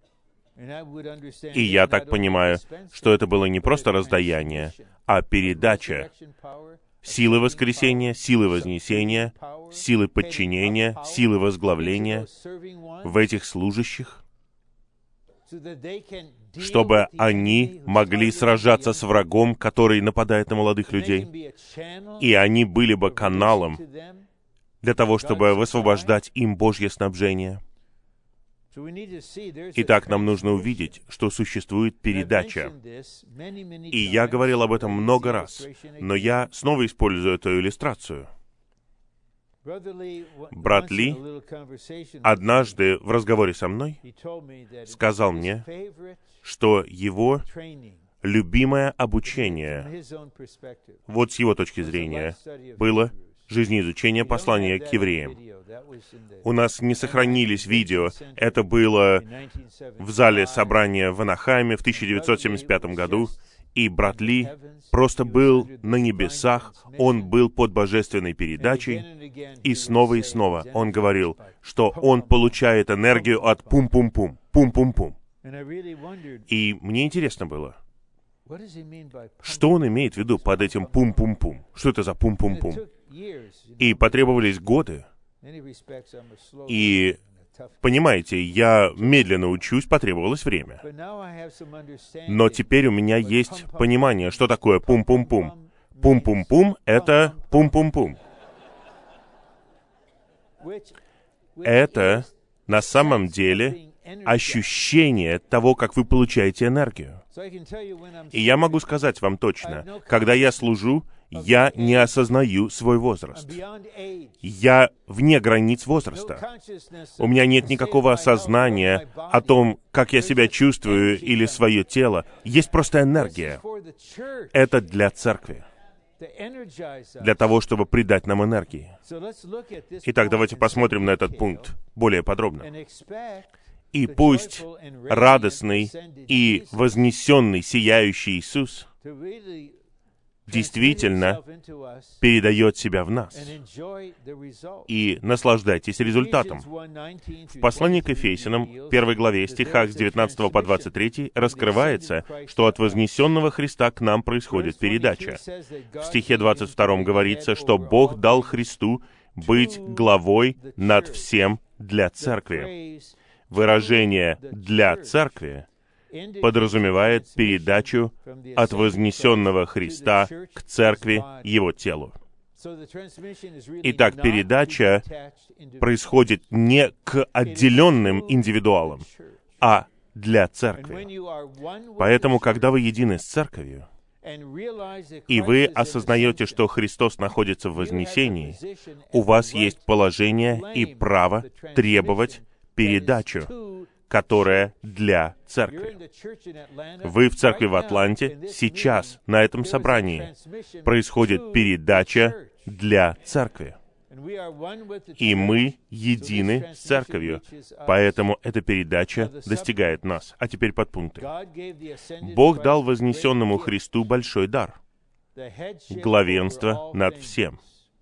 [SPEAKER 1] И я так понимаю, что это было не просто раздаяние, а передача силы воскресения, силы вознесения, силы подчинения, силы возглавления в этих служащих. чтобы они могли сражаться с врагом, который нападает на молодых людей, и они были бы каналом для того, чтобы высвобождать им Божье снабжение. Итак, нам нужно увидеть, что существует передача. И я говорил об этом много раз, но я снова использую эту иллюстрацию. Брат Ли однажды в разговоре со мной сказал мне, что его любимое обучение, вот с его точки зрения, было жизнеизучение послания к евреям. У нас не сохранились видео. Это было в зале собрания в Анахайме в тысяча девятьсот семьдесят пятом году. И брат Ли просто был на небесах, он был под божественной передачей, и снова и снова он говорил, что он получает энергию от пум-пум-пум, пум-пум-пум. И мне интересно было, что он имеет в виду под этим пум-пум-пум? Что это за пум-пум-пум? И потребовались годы. И, понимаете, я медленно учусь, потребовалось время. Но теперь у меня есть понимание, что такое пум-пум-пум. Пум-пум-пум — это пум-пум-пум. Это на самом деле ощущение того, как вы получаете энергию. И я могу сказать вам точно, когда я служу, я не осознаю свой возраст. Я вне границ возраста. У меня нет никакого осознания о том, как я себя чувствую или свое тело. Есть просто энергия. Это для церкви. Для того, чтобы придать нам энергии. Итак, давайте посмотрим на этот пункт более подробно. И пусть радостный и вознесенный, сияющий Иисус действительно передает себя в нас. И наслаждайтесь результатом. В послании к Ефесянам, первой главе, стихах с девятнадцатого по двадцать третий, раскрывается, что от вознесенного Христа к нам происходит передача. В стихе двадцать втором говорится, что Бог дал Христу быть главой над всем для церкви. Выражение «для церкви» подразумевает передачу от вознесенного Христа к церкви, его телу. Итак, передача происходит не к отделенным индивидуалам, а для церкви. Поэтому, когда вы едины с церковью, и вы осознаете, что Христос находится в вознесении, у вас есть положение и право требовать передачу, которая для церкви. Вы в церкви в Атланте, сейчас, на этом собрании, происходит передача для церкви. И мы едины с церковью, поэтому эта передача достигает нас. А теперь подпункты. Бог дал вознесенному Христу большой дар — главенство над всем.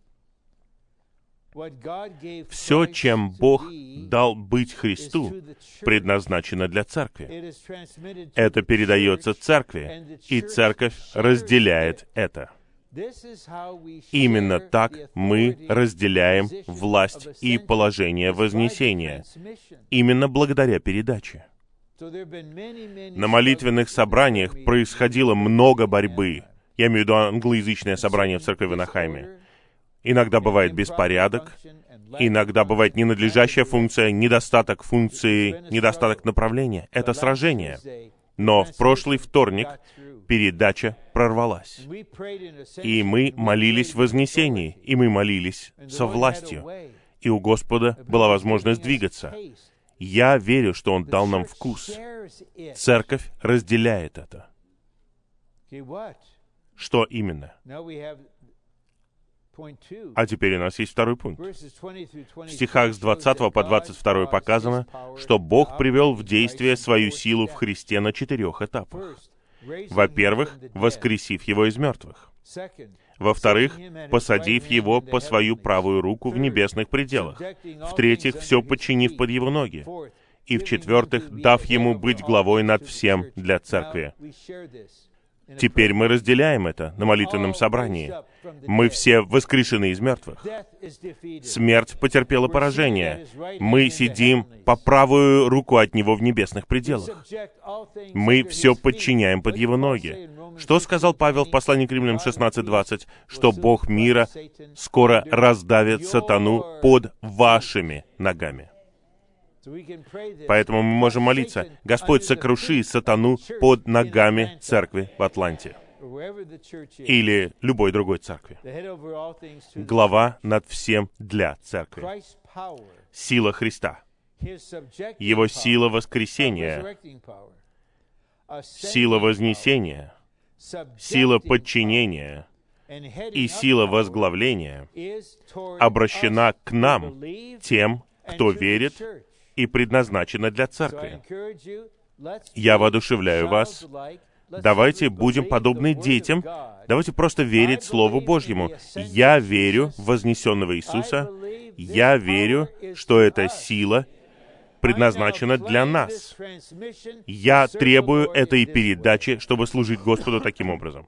[SPEAKER 1] Все, чем Бог дал быть Христу, предназначено для церкви. Это передается церкви, и церковь разделяет это. Именно так мы разделяем власть и положение вознесения. Именно благодаря передаче. На молитвенных собраниях происходило много борьбы. Я имею в виду англоязычное собрание в церкви в Анахайме. Иногда бывает беспорядок, иногда бывает ненадлежащая функция, недостаток функции, недостаток направления. Это сражение. Но в прошлый вторник передача прорвалась. И мы молились в вознесении, и мы молились со властью. И у Господа была возможность двигаться. Я верю, что Он дал нам вкус. Церковь разделяет это. Что именно? А теперь у нас есть второй пункт. В стихах с двадцатого по двадцать второй показано, что Бог привел в действие свою силу в Христе на четырех этапах. Во-первых, воскресив Его из мертвых. Во-вторых, посадив Его по свою правую руку в небесных пределах. В-третьих, все подчинив под Его ноги. И в-четвертых, дав Ему быть главой над всем для церкви. Теперь мы разделяем это на молитвенном собрании. Мы все воскрешены из мертвых. Смерть потерпела поражение. Мы сидим по правую руку от Него в небесных пределах. Мы все подчиняем под Его ноги. Что сказал Павел в послании к Римлянам шестнадцать двадцать? Что Бог мира скоро раздавит сатану под вашими ногами. Поэтому мы можем молиться: «Господь, сокруши сатану под ногами церкви в Атланте» или любой другой церкви. Глава над всем для церкви. Сила Христа. Его сила воскресения, сила вознесения, сила подчинения и сила возглавления обращена к нам, тем, кто верит, и предназначена для церкви. Я воодушевляю вас. Давайте будем подобны детям. Давайте просто верить Слову Божьему. Я верю в вознесенного Иисуса. Я верю, что эта сила предназначена для нас. Я требую этой передачи, чтобы служить Господу таким образом.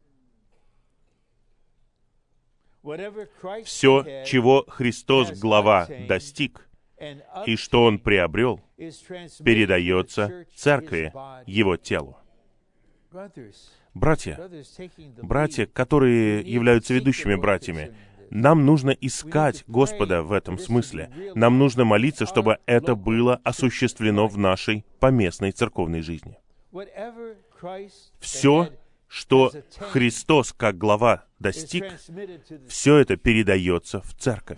[SPEAKER 1] Все, чего Христос, глава, достиг, и что Он приобрел, передается церкви, Его телу. Братья, братья, которые являются ведущими братьями, нам нужно искать Господа в этом смысле. Нам нужно молиться, чтобы это было осуществлено в нашей поместной церковной жизни. Все, что Христос, как глава, достиг, все это передается в церковь.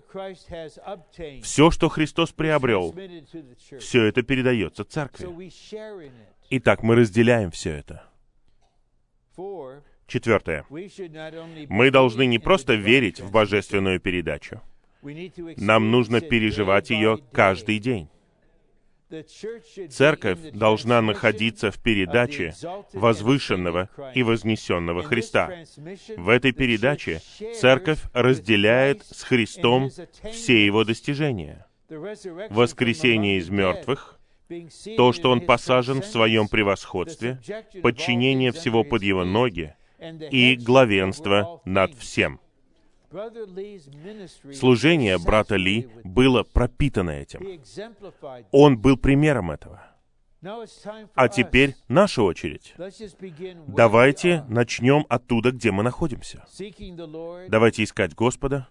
[SPEAKER 1] Все, что Христос приобрел, все это передается церкви. Итак, мы разделяем все это. Четвертое. Мы должны не просто верить в божественную передачу. Нам нужно переживать ее каждый день. Церковь должна находиться в передаче возвышенного и вознесенного Христа. В этой передаче Церковь разделяет с Христом все Его достижения. Воскресение из мертвых, то, что Он посажен в Своем превосходстве, подчинение всего под Его ноги и главенство над всем. Служение брата Ли было пропитано этим. Он был примером этого. А теперь наша очередь. Давайте начнем оттуда, где мы находимся. Давайте искать Господа.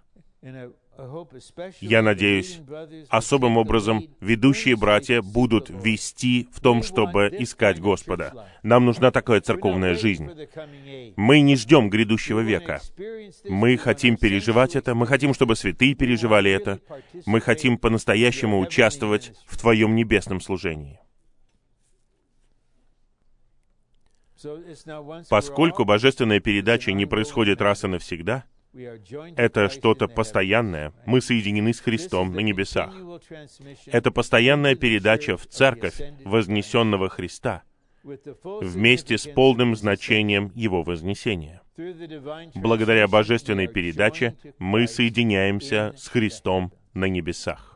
[SPEAKER 1] Я надеюсь, особым образом ведущие братья будут вести в том, чтобы искать Господа. Нам нужна такая церковная жизнь. Мы не ждем грядущего века. Мы хотим переживать это, мы хотим, чтобы святые переживали это. Мы хотим по-настоящему участвовать в Твоем небесном служении. Поскольку божественная передача не происходит раз и навсегда, это что-то постоянное. Мы соединены с Христом на небесах. Это постоянная передача в церковь вознесенного Христа вместе с полным значением Его вознесения. Благодаря божественной передаче мы соединяемся с Христом на небесах.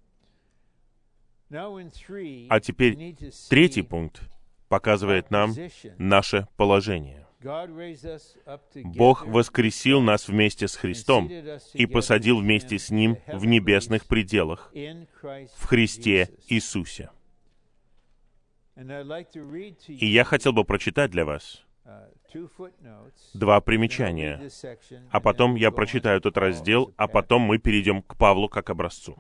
[SPEAKER 1] А теперь третий пункт показывает нам наше положение. Бог воскресил нас вместе с Христом и посадил вместе с Ним в небесных пределах, в Христе Иисусе. И я хотел бы прочитать для вас два примечания, а потом я прочитаю этот раздел, а потом мы перейдем к Павлу как образцу.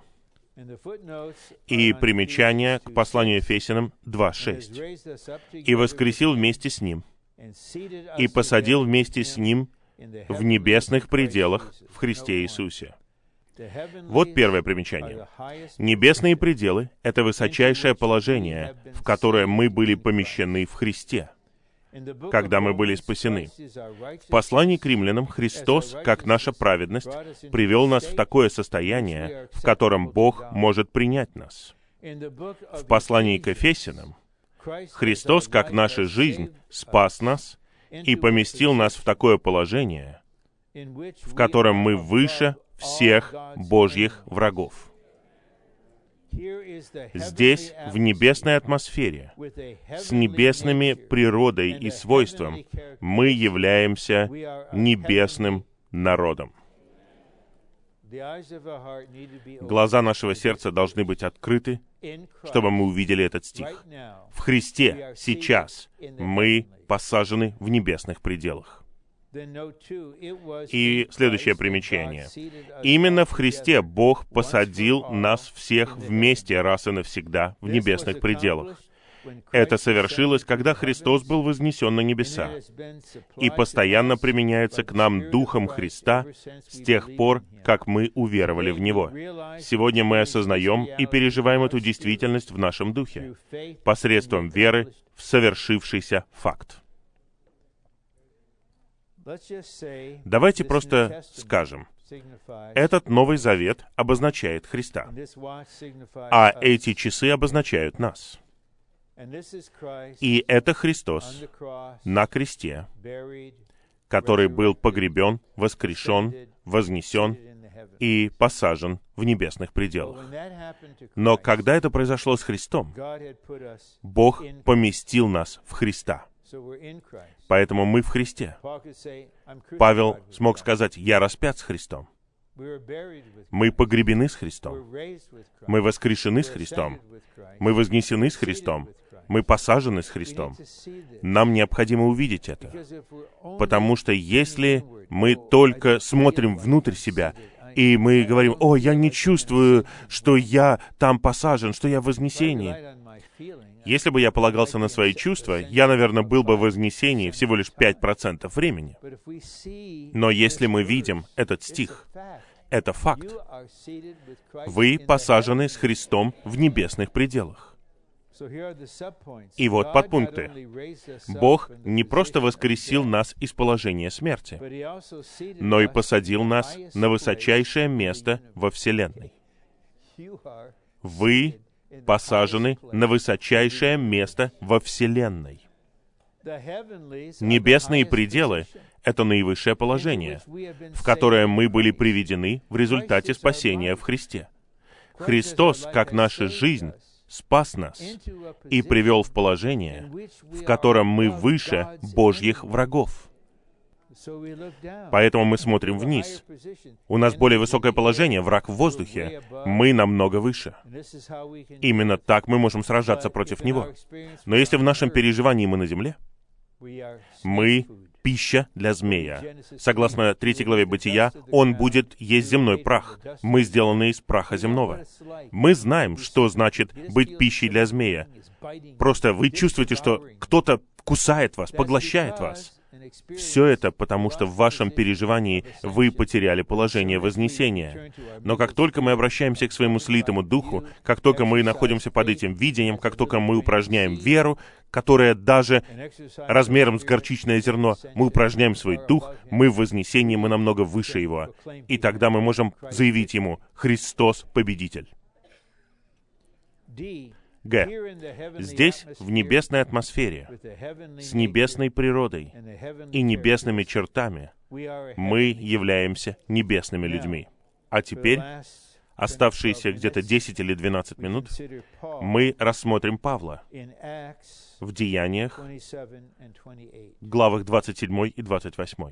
[SPEAKER 1] И примечание к посланию Ефесянам два шесть. «И воскресил вместе с Ним, и посадил вместе с Ним в небесных пределах в Христе Иисусе». Вот первое примечание. Небесные пределы — это высочайшее положение, в которое мы были помещены в Христе, когда мы были спасены. В послании к римлянам Христос, как наша праведность, привел нас в такое состояние, в котором Бог может принять нас. В послании к Ефесянам Христос, как наша жизнь, спас нас и поместил нас в такое положение, в котором мы выше всех Божьих врагов. Здесь, в небесной атмосфере, с небесными природой и свойством, мы являемся небесным народом. Глаза нашего сердца должны быть открыты, чтобы мы увидели этот стих. В Христе сейчас мы посажены в небесных пределах. И следующее примечание. Именно в Христе Бог посадил нас всех вместе раз и навсегда в небесных пределах. Это совершилось, когда Христос был вознесен на небеса, и постоянно применяется к нам Духом Христа с тех пор, как мы уверовали в Него. Сегодня мы осознаем и переживаем эту действительность в нашем духе, посредством веры в совершившийся факт. Давайте просто скажем, этот Новый Завет обозначает Христа, а эти часы обозначают нас. И это Христос на кресте, который был погребен, воскрешен, вознесен и посажен в небесных пределах. Но когда это произошло с Христом, Бог поместил нас в Христа. Поэтому мы в Христе. Павел смог сказать: «Я распят с Христом». Мы погребены с Христом. Мы воскрешены с Христом. Мы вознесены с Христом. Мы посажены с Христом. Нам необходимо увидеть это. Потому что если мы только смотрим внутрь себя, и мы говорим: «О, я не чувствую, что я там посажен, что я в вознесении». Если бы я полагался на свои чувства, я, наверное, был бы в вознесении всего лишь пять процентов времени. Но если мы видим этот стих, это факт. Вы посажены с Христом в небесных пределах. И вот подпункты. Бог не просто воскресил нас из положения смерти, но и посадил нас на высочайшее место во Вселенной. Вы посажены на высочайшее место во Вселенной. Небесные пределы — это наивысшее положение, в которое мы были приведены в результате спасения в Христе. Христос, как наша жизнь, спас нас и привел в положение, в котором мы выше Божьих врагов. Поэтому мы смотрим вниз. У нас более высокое положение, враг в воздухе. Мы намного выше. Именно так мы можем сражаться против него. Но если в нашем переживании мы на земле, мы пища для змея. Согласно третьей главе Бытия, он будет есть земной прах. Мы сделаны из праха земного. Мы знаем, что значит быть пищей для змея. Просто вы чувствуете, что кто-то кусает вас, поглощает вас. Все это потому, что в вашем переживании вы потеряли положение вознесения. Но как только мы обращаемся к своему слитому духу, как только мы находимся под этим видением, как только мы упражняем веру, которая даже размером с горчичное зерно, мы упражняем свой дух, мы в вознесении, мы намного выше его. И тогда мы можем заявить ему: «Христос победитель». Г. Здесь, в небесной атмосфере, с небесной природой и небесными чертами, мы являемся небесными людьми. А теперь, оставшиеся где-то десять или двенадцать минут, мы рассмотрим Павла в Деяниях, главах двадцать семь и двадцать восемь.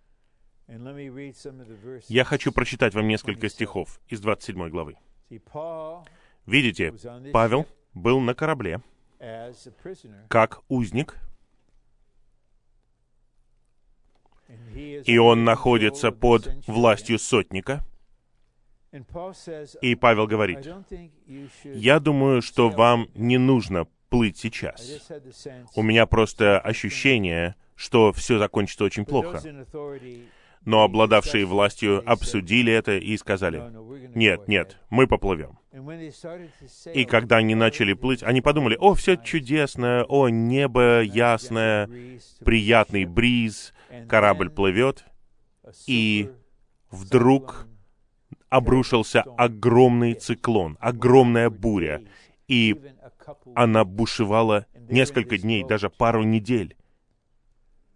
[SPEAKER 1] Я хочу прочитать вам несколько стихов из двадцать седьмой главы. Видите, Павел был на корабле как узник, и он находится под властью сотника. И Павел говорит: «Я думаю, что вам не нужно плыть сейчас. У меня просто ощущение, что все закончится очень плохо». Но обладавшие властью обсудили это и сказали: «Нет, нет, мы поплывем». И когда они начали плыть, они подумали: «О, все чудесно, о, небо ясное, приятный бриз, корабль плывет». И вдруг обрушился огромный циклон, огромная буря, и она бушевала несколько дней, даже пару недель.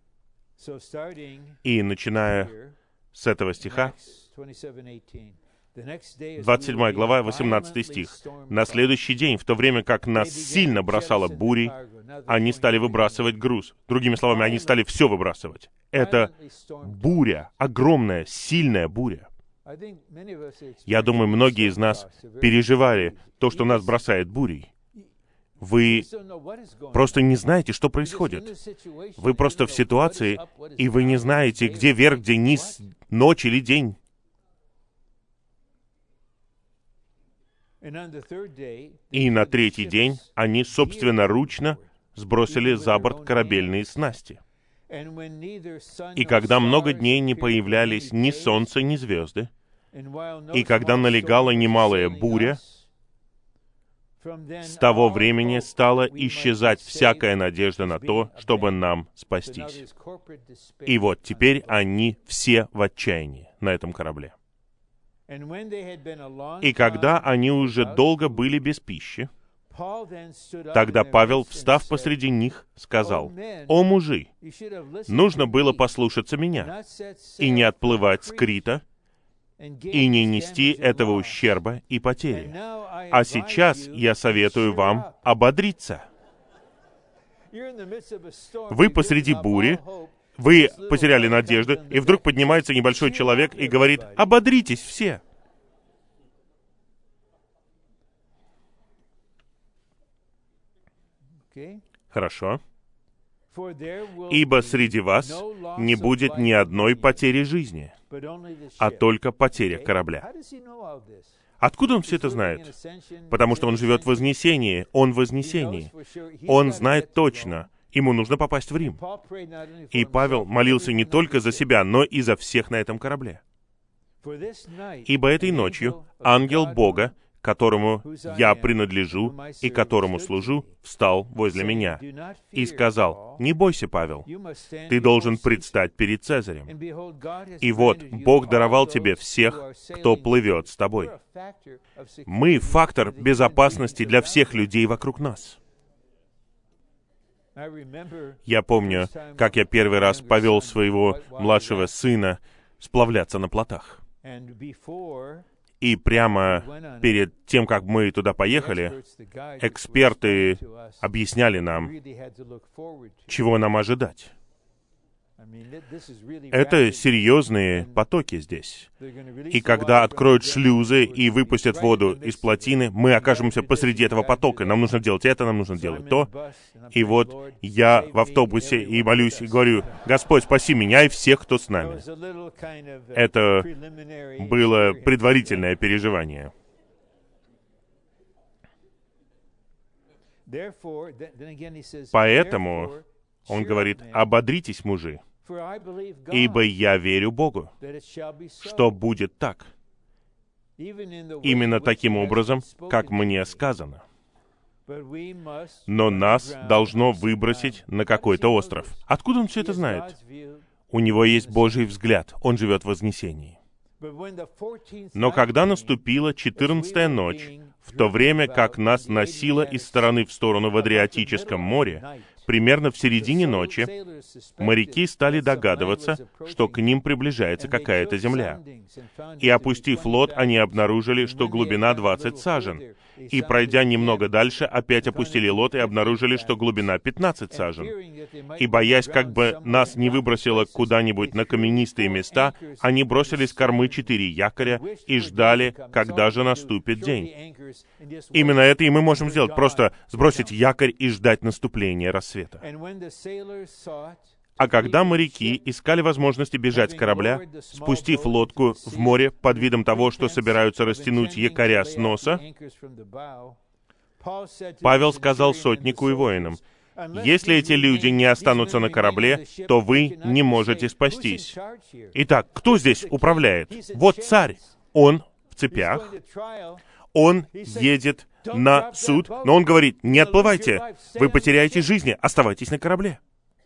[SPEAKER 1] И начиная с этого стиха, двадцать седьмая глава, восемнадцатый стих. «На следующий день, в то время как нас сильно бросало бурей, они стали выбрасывать груз». Другими словами, они стали все выбрасывать. Это буря, огромная, сильная буря. Я думаю, многие из нас переживали то, что нас бросает бурей. Вы просто не знаете, что происходит. Вы просто в ситуации, и вы не знаете, где верх, где низ, ночь или день. И на третий день они собственноручно сбросили за борт корабельные снасти. И когда много дней не появлялись ни солнце, ни звезды, и когда налегала немалая буря, с того времени стала исчезать всякая надежда на то, чтобы нам спастись. И вот теперь они все в отчаянии на этом корабле. И когда они уже долго были без пищи, тогда Павел, встав посреди них, сказал: «О мужи, нужно было послушаться меня и не отплывать с Крита, и не нести этого ущерба и потери. А сейчас я советую вам ободриться». Вы посреди бури, вы потеряли надежду, и вдруг поднимается небольшой человек и говорит: «Ободритесь все». Хорошо. «Ибо среди вас не будет ни одной потери жизни, а только потеря корабля». Откуда он все это знает? Потому что он живет в Вознесении, он в Вознесении. Он знает точно, ему нужно попасть в Рим. И Павел молился не только за себя, но и за всех на этом корабле. «Ибо этой ночью ангел Бога, которому я принадлежу и которому служу, встал возле меня и сказал: не бойся, Павел, ты должен предстать перед Цезарем. И вот, Бог даровал тебе всех, кто плывет с тобой». Мы — фактор безопасности для всех людей вокруг нас. Я помню, как я первый раз повел своего младшего сына сплавляться на плотах. И прямо перед тем, как мы туда поехали, эксперты объясняли нам, чего нам ожидать. Это серьезные потоки здесь. И когда откроют шлюзы и выпустят воду из плотины, мы окажемся посреди этого потока. Нам нужно делать это, нам нужно делать то. И вот я в автобусе и молюсь, и говорю: «Господь, спаси меня и всех, кто с нами». Это было предварительное переживание. Поэтому он говорит: «Ободритесь, мужи, ибо я верю Богу, что будет так, именно таким образом, как мне сказано. Но нас должно выбросить на какой-то остров». Откуда он все это знает? У него есть Божий взгляд, он живет в Вознесении. Но когда наступила четырнадцатая ночь, в то время как нас носило из стороны в сторону в Адриатическом море, примерно в середине ночи моряки стали догадываться, что к ним приближается какая-то земля. И, опустив лод, они обнаружили, что глубина двадцать сажен. И, пройдя немного дальше, опять опустили лод и обнаружили, что глубина пятнадцать сажен. И, боясь, как бы нас не выбросило куда-нибудь на каменистые места, они бросили с кормы четыре якоря и ждали, когда же наступит день. Именно это и мы можем сделать, просто сбросить якорь и ждать наступления рассвета. А когда моряки искали возможности бежать с корабля, спустив лодку в море под видом того, что собираются растянуть якоря с носа, Павел сказал сотнику и воинам: «Если эти люди не останутся на корабле, то вы не можете спастись». Итак, кто здесь управляет? Вот царь. Он в цепях. Он едет на суд, но он говорит: «Не отплывайте, вы потеряете жизни, оставайтесь на корабле».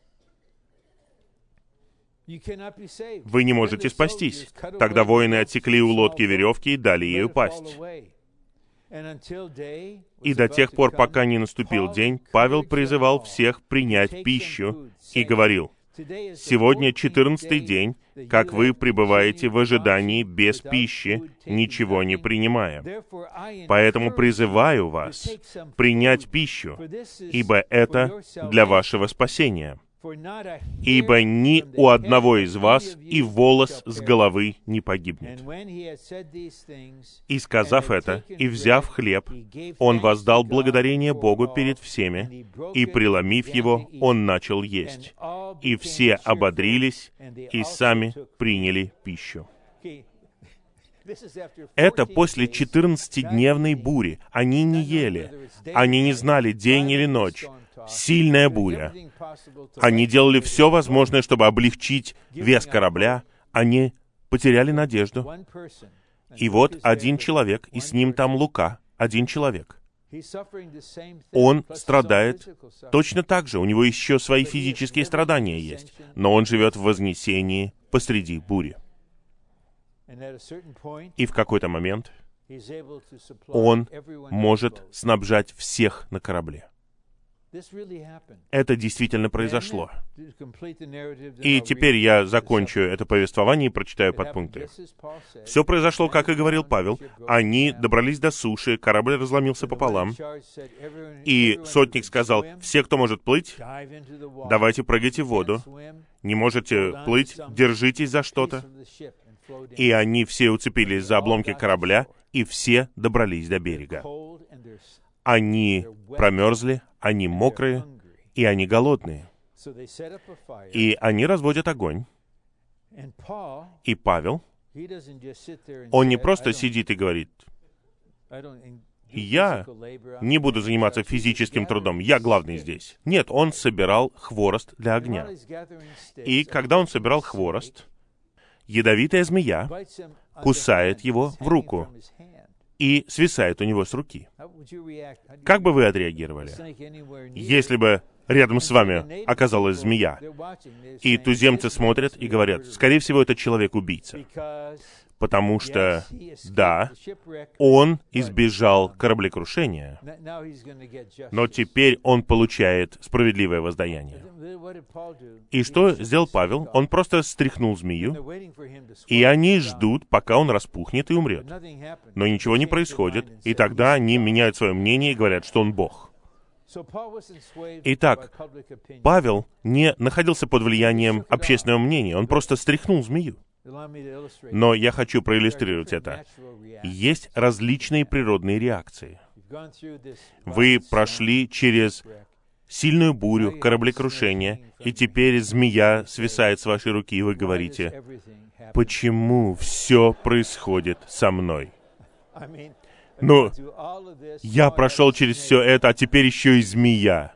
[SPEAKER 1] Вы не можете спастись. Тогда воины отсекли у лодки веревки и дали ей упасть. И до тех пор, пока не наступил день, Павел призывал всех принять пищу и говорил: Сегодня четырнадцатый день, как вы пребываете в ожидании без пищи, ничего не принимая. Поэтому призываю вас принять пищу, ибо это для вашего спасения. Ибо ни у одного из вас и волос с головы не погибнет. И сказав это, и взяв хлеб, он воздал благодарение Богу перед всеми, и, преломив его, он начал есть. И все ободрились, и сами приняли пищу. Это после четырнадцатидневной бури. Они не ели. Они не знали, день или ночь. Сильная буря. Они делали все возможное, чтобы облегчить вес корабля. Они потеряли надежду. И вот один человек, и с ним там Лука, один человек. Он страдает точно так же. У него еще свои физические страдания есть. Но он живет в вознесении посреди бури. И в какой-то момент он может снабжать всех на корабле. Это действительно произошло. И теперь я закончу это повествование и прочитаю подпункты. Все произошло, как и говорил Павел. Они добрались до суши, корабль разломился пополам. И сотник сказал: «Все, кто может плыть, давайте прыгайте в воду. Не можете плыть, держитесь за что-то». И они все уцепились за обломки корабля, и все добрались до берега. Они промерзли, они мокрые, и они голодные. И они разводят огонь. И Павел, он не просто сидит и говорит: «Я не буду заниматься физическим трудом, я главный здесь». Нет, он собирал хворост для огня. И когда он собирал хворост, ядовитая змея кусает его в руку и свисает у него с руки. Как бы вы отреагировали, если бы рядом с вами оказалась змея, и туземцы смотрят и говорят: «Скорее всего, это человек-убийца», потому что, да, он избежал кораблекрушения, но теперь он получает справедливое воздаяние. И что сделал Павел? Он просто стряхнул змею, и они ждут, пока он распухнет и умрет. Но ничего не происходит, и тогда они меняют свое мнение и говорят, что он Бог. Итак, Павел не находился под влиянием общественного мнения, он просто стряхнул змею. Но я хочу проиллюстрировать это. Есть различные природные реакции. Вы прошли через сильную бурю, кораблекрушение, и теперь змея свисает с вашей руки, и вы говорите: «Почему все происходит со мной?» Ну, я прошел через все это, а теперь еще и змея.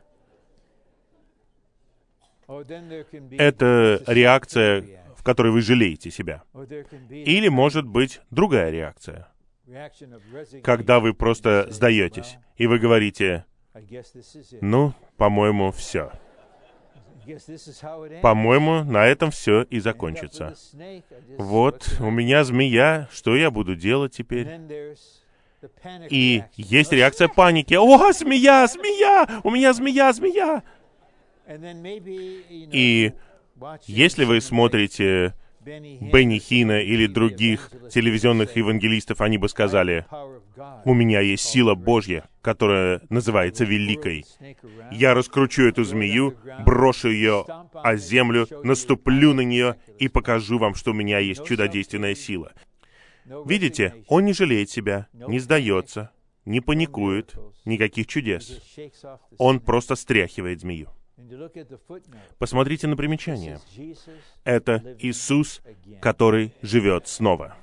[SPEAKER 1] Это реакция, в которой вы жалеете себя. Или, может быть, другая реакция, когда вы просто сдаетесь, и вы говорите: «Ну, по-моему, все. По-моему, на этом все и закончится. Вот, у меня змея, что я буду делать теперь?» И есть реакция паники. «О, змея, змея! У меня змея, змея!» И если вы смотрите Бенни Хинна или других телевизионных евангелистов, они бы сказали: «У меня есть сила Божья, которая называется Великой. Я раскручу эту змею, брошу ее о землю, наступлю на нее и покажу вам, что у меня есть чудодейственная сила». Видите, он не жалеет себя, не сдается, не паникует, никаких чудес. Он просто стряхивает змею. Посмотрите на примечание. Это Иисус, который живет снова.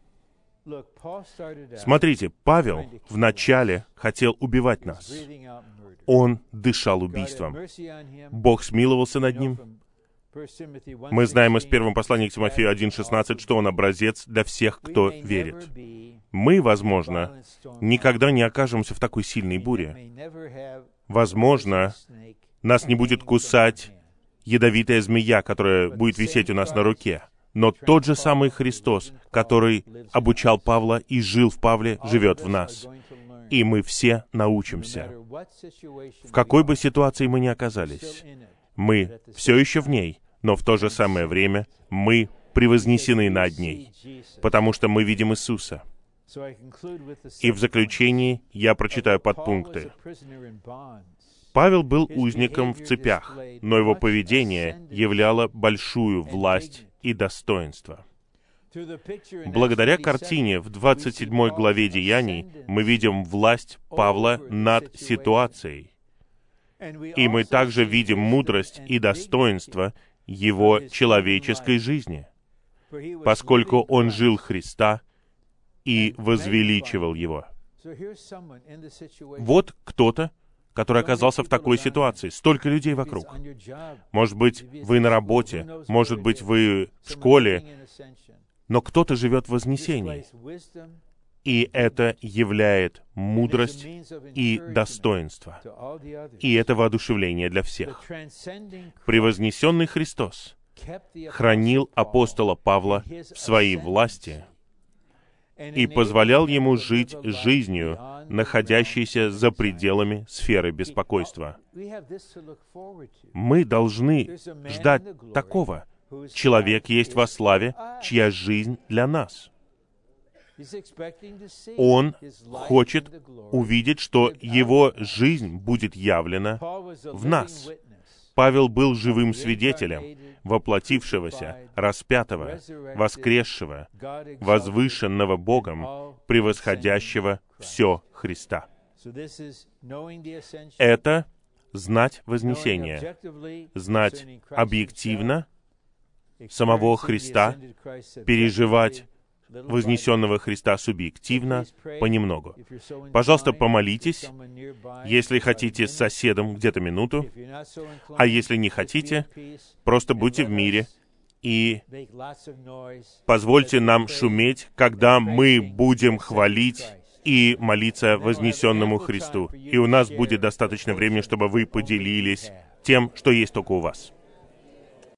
[SPEAKER 1] Смотрите, Павел вначале хотел убивать нас. Он дышал убийством. Бог смиловался над ним. Мы знаем из первого послания к Тимофею один шестнадцать, что он образец для всех, кто верит. Мы, возможно, никогда не окажемся в такой сильной буре. Возможно, нас не будет кусать ядовитая змея, которая будет висеть у нас на руке. Но тот же самый Христос, который обучал Павла и жил в Павле, живет в нас. И мы все научимся. В какой бы ситуации мы ни оказались, мы все еще в ней, но в то же самое время мы превознесены над ней, потому что мы видим Иисуса. И в заключении я прочитаю подпункты. Павел был узником в цепях, но его поведение являло большую власть и достоинство. Благодаря картине в двадцать седьмой главе Деяний мы видим власть Павла над ситуацией. И мы также видим мудрость и достоинство его человеческой жизни, поскольку он жил Христа и возвеличивал Его. Вот кто-то, который оказался в такой ситуации. Столько людей вокруг. Может быть, вы на работе, может быть, вы в школе, но кто-то живет в вознесении. И это являет мудрость и достоинство. И это воодушевление для всех. Превознесенный Христос хранил апостола Павла в своей власти и позволял ему жить жизнью, находящейся за пределами сферы беспокойства. Мы должны ждать такого. Человек есть во славе, чья жизнь для нас. Он хочет увидеть, что его жизнь будет явлена в нас. Павел был живым свидетелем воплотившегося, распятого, воскресшего, возвышенного Богом, превосходящего все Христа. Это знать вознесение, знать объективно самого Христа, переживать вознесенного Христа субъективно, понемногу. Пожалуйста, помолитесь, если хотите, с соседом где-то минуту, а если не хотите, просто будьте в мире и позвольте нам шуметь, когда мы будем хвалить и молиться вознесенному Христу. И у нас будет достаточно времени, чтобы вы поделились тем, что есть только у вас.